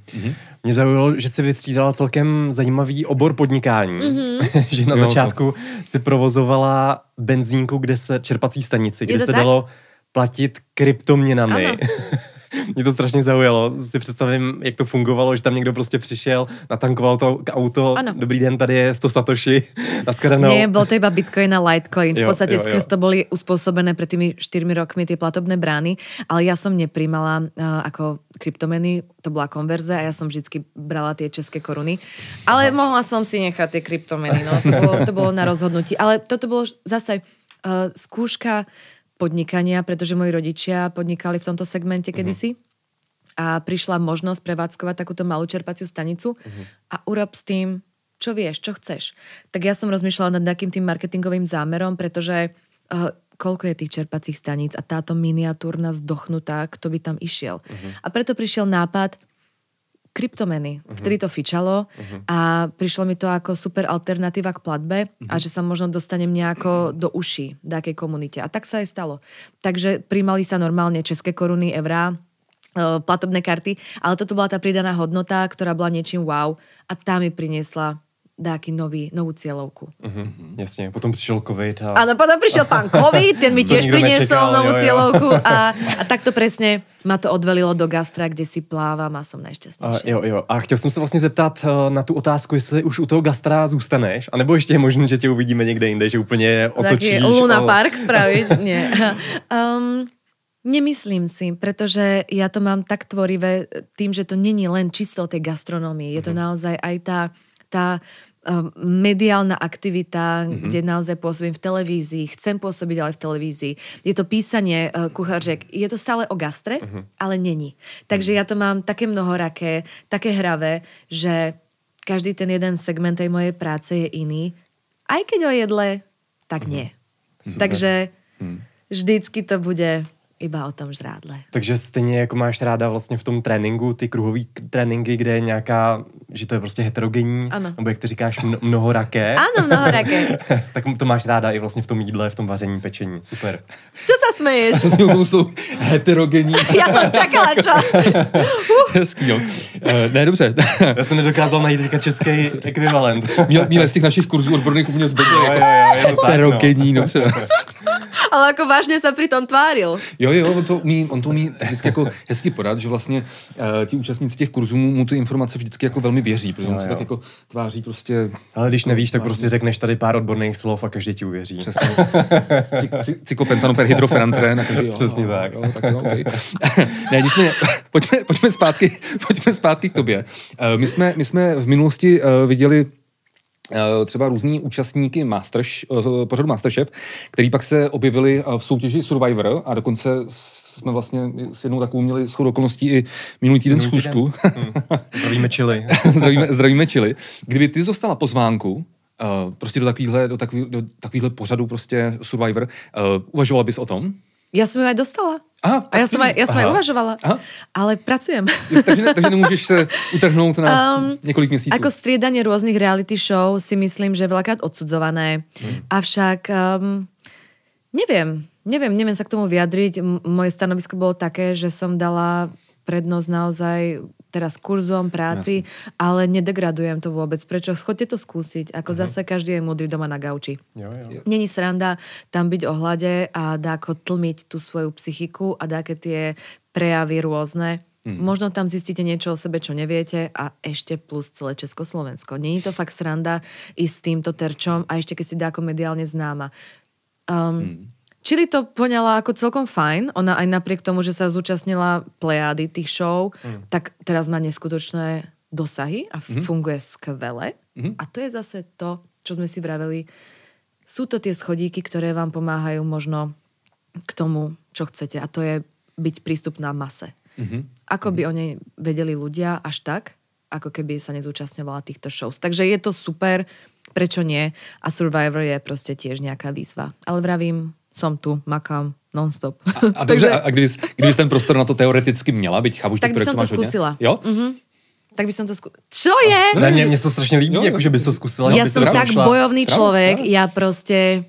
Mě zaujalo, že si vystřídala celkem zajímavý obor podnikání. Že na začátku si provozovala benzínku, čerpací stanici, kde se dalo platit kryptoměnami. Ano. Mě to strašně zaujalo. Si představím, jak to fungovalo, že tam někdo prostě přišel, natankoval to auto. Ano. Dobrý den, tady je 100 satoshi. Naschledanou. Nie, bol to iba Bitcoin a Litecoin. V podstate skrz to boli uspôsobené pred tými 4 rokmi tie platobné brány, ale ja som nepríjmala ako kryptomeny, to bola konverze a ja som vždycky brala tie české koruny. Ale mohla som si nechať tie kryptomeny, no. To bolo na rozhodnutí. Ale toto bolo zase skúška podnikania, pretože moji rodičia podnikali v tomto segmente kedysi a prišla možnosť prevádzkovať takúto malú čerpaciu stanicu a urob s tým, čo vieš, čo chceš. Tak ja som rozmýšľala nad takým tým marketingovým zámerom, pretože koľko je tých čerpacích staníc a táto miniatúrna zdochnutá, kto by tam išiel. A preto prišiel nápad kryptomeny. Vtedy to fičalo a prišlo mi to ako super alternatíva k platbe a že sa možno dostanem nejako do uší dákej komunite. A tak sa aj stalo. Takže príjmali sa normálne české koruny, eurá, platobné karty, ale toto bola tá pridaná hodnota, ktorá bola niečím wow a tá mi priniesla dáky novú cieľovku. Jasně, potom přišel covid. Áno, potom prišiel pán COVID, ten mi tiež priniesol novú cieľovku a takto presne ma to odvelilo do gastra, kde si plávam a som najšťastnejšia. Jo. A chtěl jsem se vlastně zeptat na tu otázku, jestli už u toho gastra zůstaneš, anebo ještě je možné, že tě uvidíme někde jinde, že úplně otočíš. Taký Luna Park spraviť? Nie. Nemyslím si, pretože ja to mám tak tvorivé tým, že to není len čisto o tej gastronómii. Je to naozaj aj tá mediálna aktivita, kde naozaj pôsobím v televízii, chcem pôsobiť ale v televízii. Je to písanie kucharžiek, je to stále o gastre, ale není. Takže ja to mám také mnohoraké, také hravé, že každý ten jeden segment tej mojej práce je iný. Aj keď o jedle, tak nie. Takže vždycky to bude iba o tom žrádle. Takže stejně jako máš ráda vlastně v tom tréninku, ty kruhový tréninky, kde je nějaká, že to je prostě heterogenní, ano. Nebo jak ty říkáš, mnohoraké. Áno, mnohoraké. Tak to máš ráda i vlastně v tom jídle, v tom vaření, pečení. Super. Čo sa smeješ? Že si tomu jsou heterogenní. Ja som čakala, čo? Hezký, jo. Ne, dobře. Já jsem nedokázal najít teďka český ekvivalent. Měl z těch našich kurzů odborných úplně zbytě. Jo, je to tak, heterogenní, dobře. Ale ako vážne sa pri tom tváril. Jo, on to umí vždycky jako hezky podat, že vlastně ti účastníci těch kurzů mu ty informace vždycky jako velmi věří, protože on se tak jako tváří prostě... Ale když nevíš, tak prostě řekneš tady pár odborných slov a každý ti uvěří. Přesně. Cyklopentanoper hydrofenantren. Přesně tak. Jo, tak no, okay. Ne, nicméně, pojďme zpátky k tobě. My jsme v minulosti viděli třeba různí účastníky pořadu Masterchef, který pak se objevili v soutěži Survivor a dokonce jsme vlastně s jednou takovou měli shodou okolností i minulý týden schůzku. Zdravíme Chili. Zdravíme Chili. Kdyby ty jsi dostala pozvánku prostě do takovýhle pořadu prostě Survivor, uvažovala bys o tom? Ja som ju aj dostala. Aha, a ja som aj uvažovala. Aha. Ale pracujem. Takže nemôžeš sa utrhnúť na niekoľko měsíců. Ako striedanie rôznych reality show si myslím, že je veľakrát odsudzované. Avšak neviem sa k tomu vyjadriť. Moje stanovisko bolo také, že som dala prednosť naozaj teraz kurzom, práci, ale nedegradujem to vôbec. Prečo? Chodte to skúsiť. Ako zase každý je múdry doma na gauči. Jo. Není sranda tam byť ohľade a dáko tlmiť tú svoju psychiku a dáke tie prejavy rôzne. Možno tam zistíte niečo o sebe, čo neviete a ešte plus celé Československo. Není to fakt sranda ísť s týmto terčom a ešte keď si dáko mediálne známa. Čili to poňala ako celkom fajn. Ona aj napriek tomu, že sa zúčastnila plejády tých show, tak teraz má neskutočné dosahy a funguje skvele. A to je zase to, čo sme si vraveli. Sú to tie schodíky, ktoré vám pomáhajú možno k tomu, čo chcete. A to je byť prístupná mase. Ako by o nej vedeli ľudia až tak, ako keby sa nezúčastňovala týchto shows. Takže je to super, prečo nie? A Survivor je proste tiež nejaká výzva. Ale vravím, som tu, makám, non-stop. A dobře, a kdybys ten prostor na to teoreticky měla, byť chápu, že tak by som to skúsila. Jo? Tak by som to skúsila. Čo je? Ne, mne to strašne líbí, akože by to skúsila. Ja som tak bojovný človek, ja proste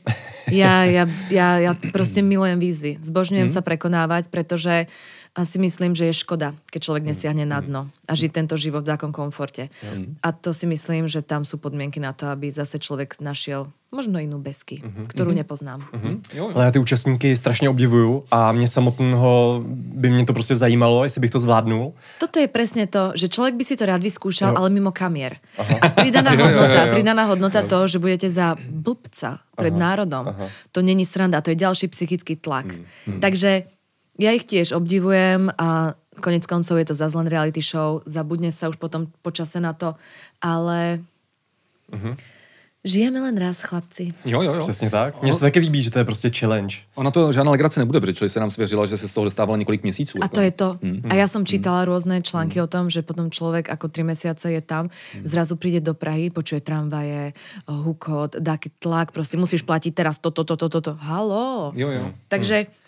milujem výzvy. Zbožňujem sa prekonávať, pretože si myslím, že je škoda, keď človek nesiahne na dno a žiť tento život v takom komforte. A to si myslím, že tam sú podmienky na to, aby zase človek našiel možno inú besky, ktorú nepoznám. Ale já ty účastníky strašně obdivuju a mě samotného by mě to prostě zajímalo, jestli bych to zvládnul. Toto je presne to, že človek by si to rád vyskúšal, ale mimo kamier. A pridaná hodnota to, že budete za blbca pred národom. To není sranda, to je ďalší psychický tlak. Takže ja ich tiež obdivujem a konec koncov je to zase len reality show, zabudne sa už potom počase na to, ale žijeme len raz, chlapci. Jo. Přesně tak. Mně se taky líbí, že to je prostě challenge. Ona to žádná legrace nebude, protože Chili se nám svěřila, že se z toho dostávala několik měsíců. A to je to. A ja som čítala rôzne články o tom, že potom človek ako 3 mesiace je tam, zrazu príde do Prahy, počuje tramvaje, hukot, dáky tlak, proste musíš platiť teraz toto. Haló. Jo. Takže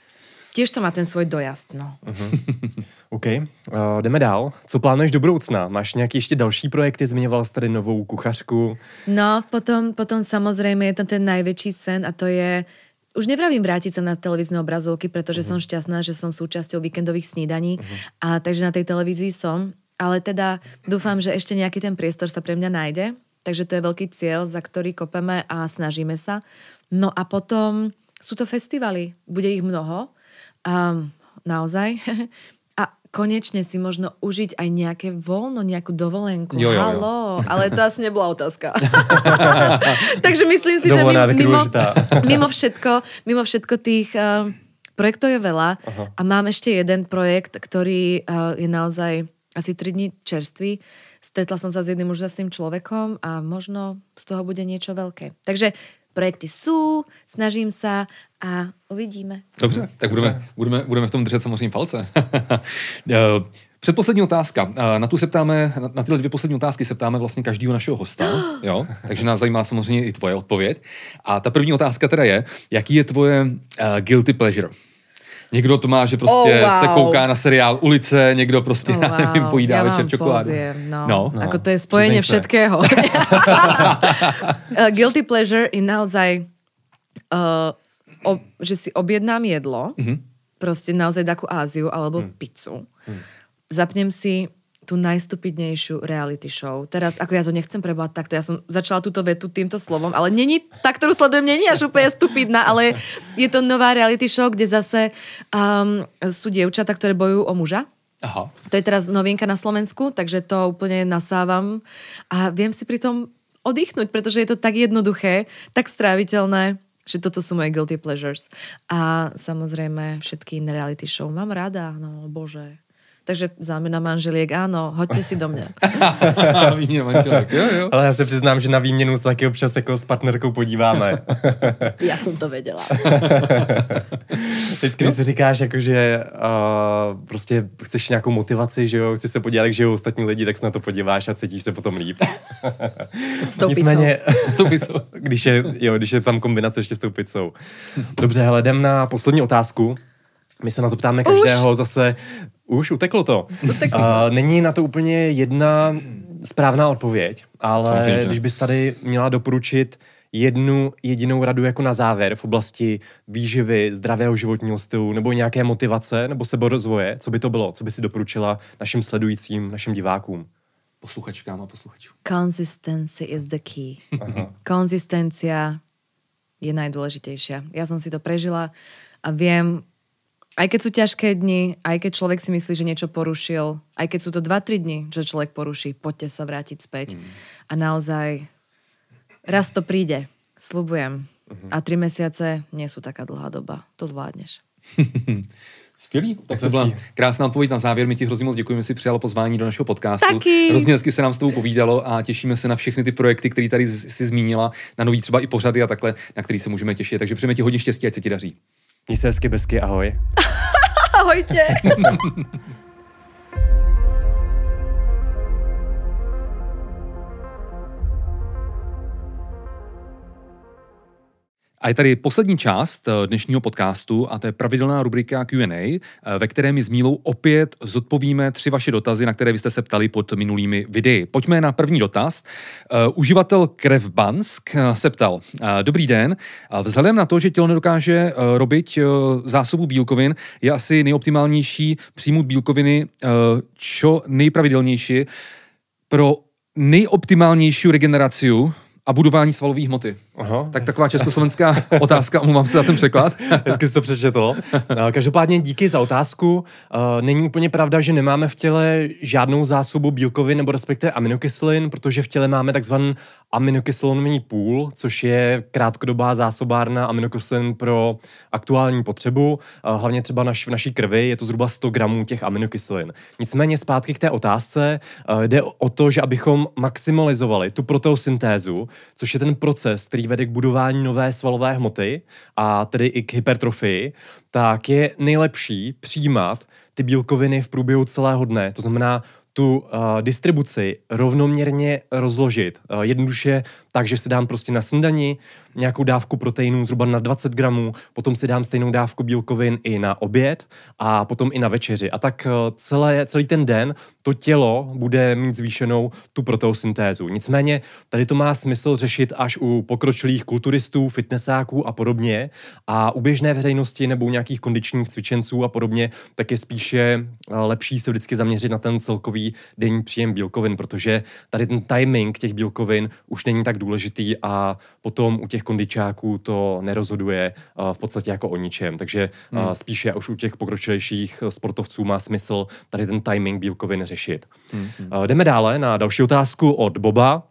tiež to má ten svůj dojazd, no. OK, jdeme dál. Co plánuješ do budoucna? Máš nějaké ještě další projekty? Zmiňoval jsi tady novou kuchařku. No, potom samozrejme je tam ten najväčší sen a to je, už nevravím vrátiť sa na televízne obrazovky, pretože som šťastná, že som súčasťou víkendových snídaní a takže na tej televízii som, ale teda dúfam, že ešte nejaký ten priestor sa pre mňa nájde, takže to je veľký cieľ, za ktorý kopeme a snažíme sa. No a potom sú to festivaly, bude ich mnoho, naozaj. A konečne si možno užiť aj nejaké voľno, nejakú dovolenku. Jo. Haló, ale to asi nebola otázka. Takže myslím si, Dovolená, že mimo všetko tých projektov je veľa. A mám ešte jeden projekt, ktorý je naozaj asi 3 dní čerstvý. Stretla som sa s jedným úžasným človekom a možno z toho bude niečo veľké. Takže projekty sú, snažím sa a uvidíme. Dobře, tak budeme v tom držet samozřejmě palce. Předposlední otázka. Na tu se ptáme, na tyhle 2 poslední otázky se ptáme vlastně každého našeho hosta, jo? Takže nás zajímá samozřejmě i tvoje odpověď. A ta první otázka teda je, jaký je tvoje guilty pleasure? Někdo to má, že prostě se kouká na seriál Ulice, někdo prostě, já nevím, pojídá večer čokoládu. No. Ako to je spojenie všetkého. Guilty pleasure je naozaj, že si objednám jedlo, prostě naozaj takú Áziu alebo pizzu. Zapnem si tú najstupidnejšiu reality show. Teraz, ako ja to nechcem prebať takto, ja som začala túto vetu týmto slovom, ale tá, ktorú sledujem, není až úplne stupidná, ale je to nová reality show, kde zase sú dievčatá, ktoré bojujú o muža. Aha. To je teraz novinka na Slovensku, takže to úplne nasávam a viem si pri tom oddychnúť, pretože je to tak jednoduché, tak stráviteľné, že toto sú moje guilty pleasures. A samozrejme všetky iné reality show mám rada, no bože. Takže záměna manželiek, áno, hoďte si do mě. Výměna manželek, jo. Ale já se přiznám, že na výměnu se taky občas jako s partnerkou podíváme. Já jsem to věděla. Vždycky, když si říkáš, jako, že prostě chceš nějakou motivaci, že jo, chceš se podívat, jak žijou ostatní lidi, tak se na to podíváš a cítíš se potom líp. S tou Nicméně, pizzou. když je tam kombinace ještě s tou pizzou. Dobře, hele, jdem na poslední otázku. My se na to ptáme každého zase. Už uteklo to. Není na to úplně jedna správná odpověď, ale samozřejmě. Když bys tady měla doporučit jednu jedinou radu jako na závěr v oblasti výživy, zdravého životního stylu nebo nějaké motivace nebo seberozvoje, co by to bylo? Co by si doporučila našim sledujícím, našim divákům? Posluchačkám a posluchačům. Consistency is the key. Konzistencia je najdôležitejšia. Ja som si to prežila a viem, aj keď sú ťažké dni, aj keď človek si myslí, že niečo porušil, aj keď sú to 2-3 dni, že človek poruší, poďte sa vrátiť späť. A naozaj raz to príde, sľubujem. A 3 mesiace nie sú taká dlhá doba. To zvládneš. Skvělý. Tak to byla krásná odpověď na závěr. My ti hrozně moc děkujeme, že jsi přijala pozvání do našeho podcastu. Taky. Hrozně hezky se nám s tebou povídalo a těšíme se na všechny ty projekty, které tady si zmínila, na nový třeba i pořady a takhle, na který se můžeme těšit. Takže přejeme ti hodně štěstí, ať se ti daří. Měj se hezky, bezky, ahoj. Ahojte. A je tady poslední část dnešního podcastu a to je pravidelná rubrika Q&A, ve které my s Mílou opět zodpovíme 3 vaše dotazy, na které byste se ptali pod minulými videi. Pojďme na první dotaz. Uživatel Krevbansk se ptal: Dobrý den, vzhledem na to, že tělo nedokáže robiť zásobu bílkovin, je asi nejoptimálnější přijmout bílkoviny čo nejpravidelnější pro nejoptimálnější regeneraci a budování svalové hmoty. Aha. Tak taková československá otázka, omlouvám se za ten překlad. Hezky jsi to přečetl. Každopádně díky za otázku. Není úplně pravda, že nemáme v těle žádnou zásobu bílkovin nebo respektive aminokyselin, protože v těle máme takzvaný aminokyselinný půl, což je krátkodobá zásobárna aminokyselin pro aktuální potřebu. Hlavně třeba v naší krvi je to zhruba 100 gramů těch aminokyselin. Nicméně zpátky k té otázce. Jde o to, že abychom maximalizovali tu proteosyntézu, což je ten proces, který vede k budování nové svalové hmoty a tedy i k hypertrofii, tak je nejlepší přijímat ty bílkoviny v průběhu celého dne. To znamená tu distribuci rovnoměrně rozložit. Jednoduše takže si dám prostě na snídani nějakou dávku proteinů zhruba na 20 gramů, potom si dám stejnou dávku bílkovin i na oběd a potom i na večeři. A tak celý ten den to tělo bude mít zvýšenou tu proteosyntézu. Nicméně tady to má smysl řešit až u pokročilých kulturistů, fitnessáků a podobně. A u běžné veřejnosti nebo u nějakých kondičních cvičenců a podobně, tak je spíše lepší se vždycky zaměřit na ten celkový denní příjem bílkovin, protože tady ten timing těch bílkovin už není tak důležitý a potom u těch kondičáků to nerozhoduje v podstatě jako o ničem. Takže spíše už u těch pokročilejších sportovců má smysl tady ten timing bílkovin řešit. Jdeme dále na další otázku od Boba.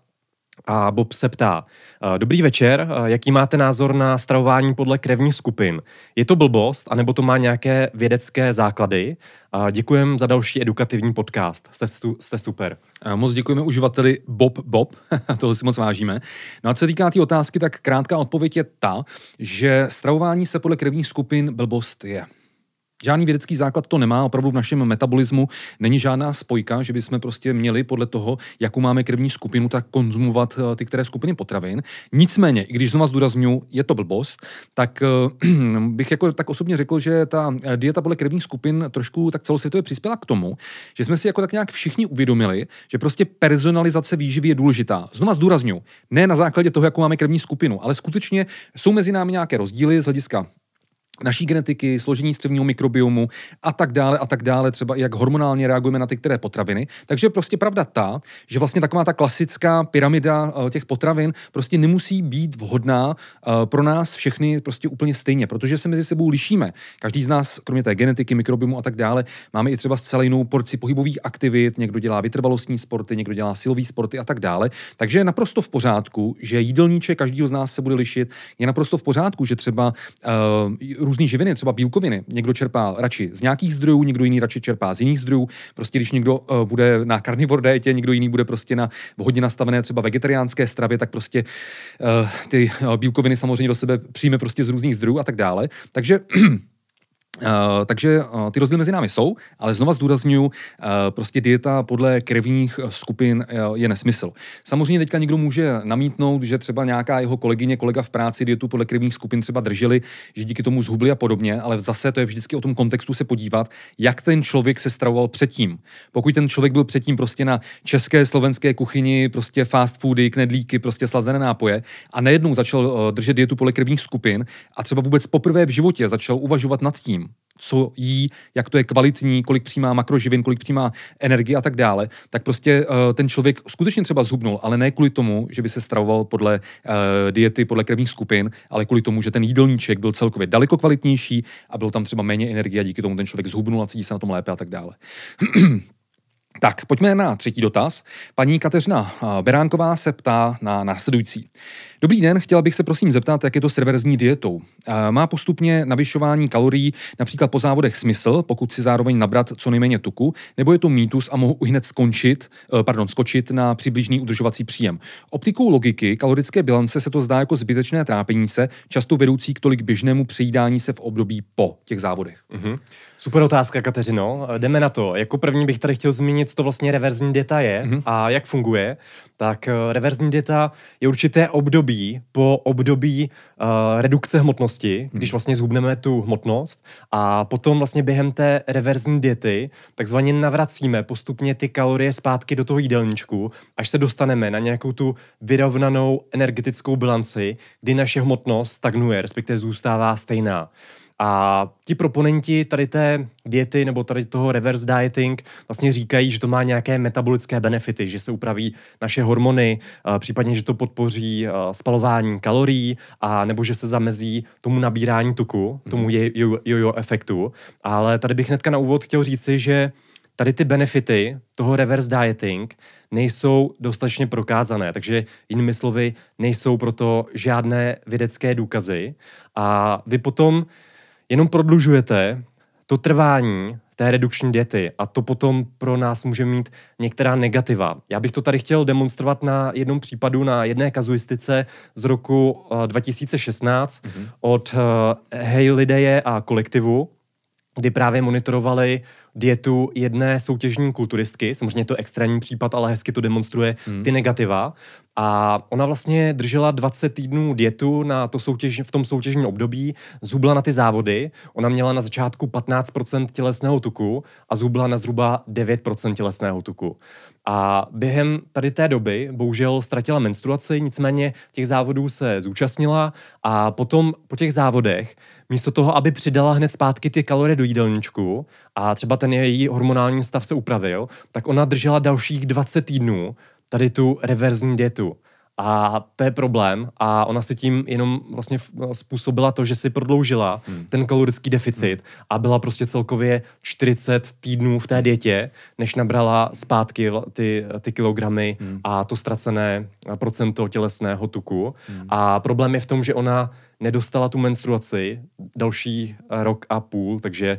A Bob se ptá, dobrý večer, jaký máte názor na stravování podle krevních skupin? Je to blbost, anebo to má nějaké vědecké základy? Děkujem za další edukativní podcast. Jste super. Moc děkujeme uživateli Bob, toho si moc vážíme. No a co se týká té otázky, tak krátká odpověď je ta, že stravování se podle krevních skupin blbost je. Žádný vědecký základ to nemá, opravdu v našem metabolismu není žádná spojka, že bychom prostě měli podle toho, jakou máme krevní skupinu, tak konzumovat ty které skupiny potravin. Nicméně, i když znovu zdůrazňuji, je to blbost, tak bych jako tak osobně řekl, že ta dieta podle krevních skupin trošku tak celosvětově přispěla k tomu, že jsme si jako tak nějak všichni uvědomili, že prostě personalizace výživy je důležitá. Znovu zdůrazňuji, ne na základě toho, jakou máme krevní skupinu, ale skutečně jsou mezi námi nějaké rozdíly z hlediska naší genetiky, složení střevního mikrobiomu a tak dále, třeba i jak hormonálně reagujeme na ty které potraviny. Takže je prostě pravda ta, že vlastně taková ta klasická pyramida těch potravin prostě nemusí být vhodná pro nás všechny prostě úplně stejně, protože se mezi sebou lišíme. Každý z nás, kromě té genetiky, mikrobiomu a tak dále, máme i třeba zcela jinou porci pohybových aktivit, někdo dělá vytrvalostní sporty, někdo dělá silový sporty a tak dále. Takže je naprosto v pořádku, že jídelníček každého z nás se bude lišit. Je naprosto v pořádku, že třeba různý živiny, třeba bílkoviny, někdo čerpá radši z nějakých zdrojů, někdo jiný radši čerpá z jiných zdrojů. Prostě když někdo bude na carnivore dietě, někdo jiný bude prostě na hodně nastavené třeba vegetariánské stravě, tak prostě ty bílkoviny samozřejmě do sebe přijme prostě z různých zdrojů a tak dále. Takže ty rozdíly mezi námi jsou, ale znova zdůrazňuji, prostě dieta podle krevních skupin je nesmysl. Samozřejmě teďka někdo může namítnout, že třeba nějaká jeho kolega v práci dietu podle krevních skupin třeba drželi, že díky tomu zhubli a podobně, ale zase to je vždycky o tom kontextu se podívat, jak ten člověk se stravoval předtím. Pokud ten člověk byl předtím prostě na české, slovenské kuchyni, prostě fast foody, knedlíky, prostě slazené nápoje a najednou začal držet dietu podle krevních skupin a třeba vůbec poprvé v životě začal uvažovat nad tím, co jí, jak to je kvalitní, kolik přijímá makroživin, kolik přijímá energie a tak dále, tak prostě ten člověk skutečně třeba zhubnul, ale ne kvůli tomu, že by se stravoval podle diety, podle krevních skupin, ale kvůli tomu, že ten jídelníček byl celkově daleko kvalitnější a bylo tam třeba méně energie a díky tomu ten člověk zhubnul a cítí se na tom lépe a tak dále. Tak, pojďme na třetí dotaz. Paní Kateřina Beránková se ptá na následující. Dobrý den, chtěla bych se prosím zeptat, jak je to s reverzní dietou. Má postupně navyšování kalorií například po závodech smysl, pokud si zároveň nabrat co nejméně tuku, nebo je to mýtus a mohu hned skočit na přibližný udržovací příjem. Optikou logiky kalorické bilance se to zdá jako zbytečné trápení se, často vedoucí k tolik běžnému přejídání se v období po těch závodech. Mm-hmm. Super otázka, Kateřino. Jdeme na to. Jako první bych tady chtěl zmínit, co to vlastně reverzní dieta je a jak funguje. Tak reverzní dieta je určité období po období redukce hmotnosti, když vlastně zhubneme tu hmotnost a potom vlastně během té reverzní diety takzvaně navracíme postupně ty kalorie zpátky do toho jídelníčku, až se dostaneme na nějakou tu vyrovnanou energetickou bilanci, kdy naše hmotnost stagnuje, respektive zůstává stejná. A ti proponenti tady té diety nebo tady toho reverse dieting vlastně říkají, že to má nějaké metabolické benefity, že se upraví naše hormony, případně, že to podpoří spalování kalorií a nebo že se zamezí tomu nabírání tuku, tomu jojo efektu. Ale tady bych hnedka na úvod chtěl říci, že tady ty benefity toho reverse dieting nejsou dostatečně prokázané, takže jinými slovy nejsou proto žádné vědecké důkazy a vy potom jenom prodlužujete to trvání té redukční diety a to potom pro nás může mít některá negativa. Já bych to tady chtěl demonstrovat na jednom případu, na jedné kazuistice z roku 2016 od Haylideje a kolektivu, kdy právě monitorovali dietu jedné soutěžní kulturistky. Samozřejmě je to extrémní případ, ale hezky to demonstruje ty negativa. A ona vlastně držela 20 týdnů dietu v tom soutěžním období, zhubla na ty závody. Ona měla na začátku 15% tělesného tuku a zhubla na zhruba 9% tělesného tuku. A během tady té doby bohužel ztratila menstruaci, nicméně těch závodů se zúčastnila a potom po těch závodech místo toho, aby přidala hned zpátky ty kalorie do jídelníčku a třeba ten její hormonální stav se upravil, tak ona držela dalších 20 týdnů tady tu reverzní dietu. A to je problém a ona si tím jenom vlastně způsobila to, že si prodloužila ten kalorický deficit a byla prostě celkově 40 týdnů v té dietě, než nabrala zpátky ty kilogramy a to ztracené procento tělesného tuku. A problém je v tom, že ona nedostala tu menstruaci další rok a půl, takže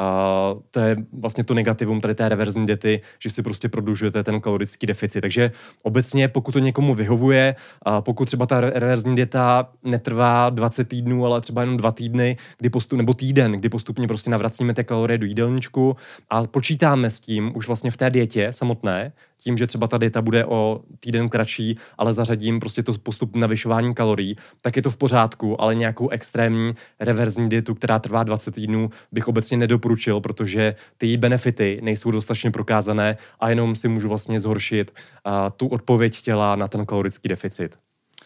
to je vlastně to negativum tady té reverzní diety, že si prostě prodlužujete ten kalorický deficit. Takže obecně, pokud to někomu vyhovuje, pokud třeba ta reverzní dieta netrvá 20 týdnů, ale třeba jenom 2 týdny, nebo týden, kdy postupně prostě navracíme ty kalorie do jídelníčku a počítáme s tím už vlastně v té dietě samotné, tím, že třeba ta dieta bude o týden kratší, ale zařadím prostě to postupné navyšování kalorií, tak je to v pořádku, ale nějakou extrémní reverzní dietu, která trvá 20 týdnů, bych obecně nedoporučil, protože ty její benefity nejsou dostatečně prokázané a jenom si můžu vlastně zhoršit tu odpověď těla na ten kalorický deficit.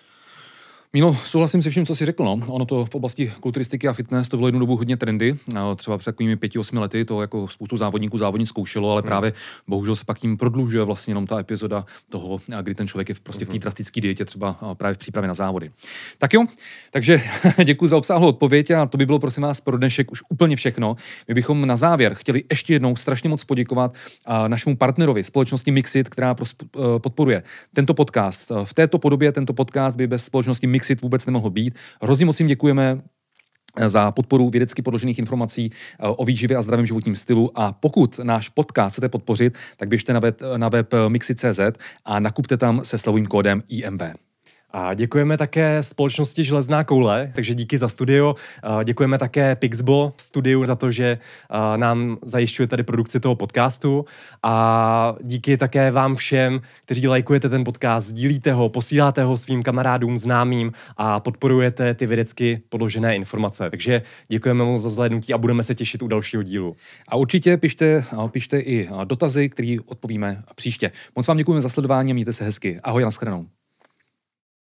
Mílo, souhlasím se vším, co jsi řekl. No. Ono to v oblasti kulturistiky a fitness to bylo jednu dobu hodně trendy. Třeba před takovými 5-8 lety to jako spoustu závodníků zkoušelo, ale právě bohužel se pak tím prodlužuje vlastně jenom ta epizoda toho, kdy ten člověk je prostě v té drastické dietě, třeba právě v přípravě na závody. Tak jo, takže děkuji za obsáhlou odpověď a to by bylo prosím vás pro dnešek už úplně všechno. My bychom na závěr chtěli ještě jednou strašně moc poděkovat našemu partnerovi, společnosti Mixit, která podporuje tento podcast. V této podobě tento podcast by bez společnosti Mixit vůbec nemohl být. Hrozně moc jim děkujeme za podporu vědecky podložených informací o výživě a zdravém životním stylu a pokud náš podcast chcete podpořit, tak běžte na web mixit.cz a nakupte tam se slovým kódem IMV. A děkujeme také společnosti Železná koule, takže díky za studio. Děkujeme také Pixbo studiu za to, že nám zajišťuje tady produkci toho podcastu a díky také vám všem, kteří lajkujete ten podcast, sdílíte ho, posíláte ho svým kamarádům, známým a podporujete ty vědecky podložené informace. Takže děkujeme moc za zhlédnutí a budeme se těšit u dalšího dílu. A určitě pište i dotazy, které odpovíme příště. Moc vám děkujeme za sledování a mějte se hezky. Ahoj, nashledanou.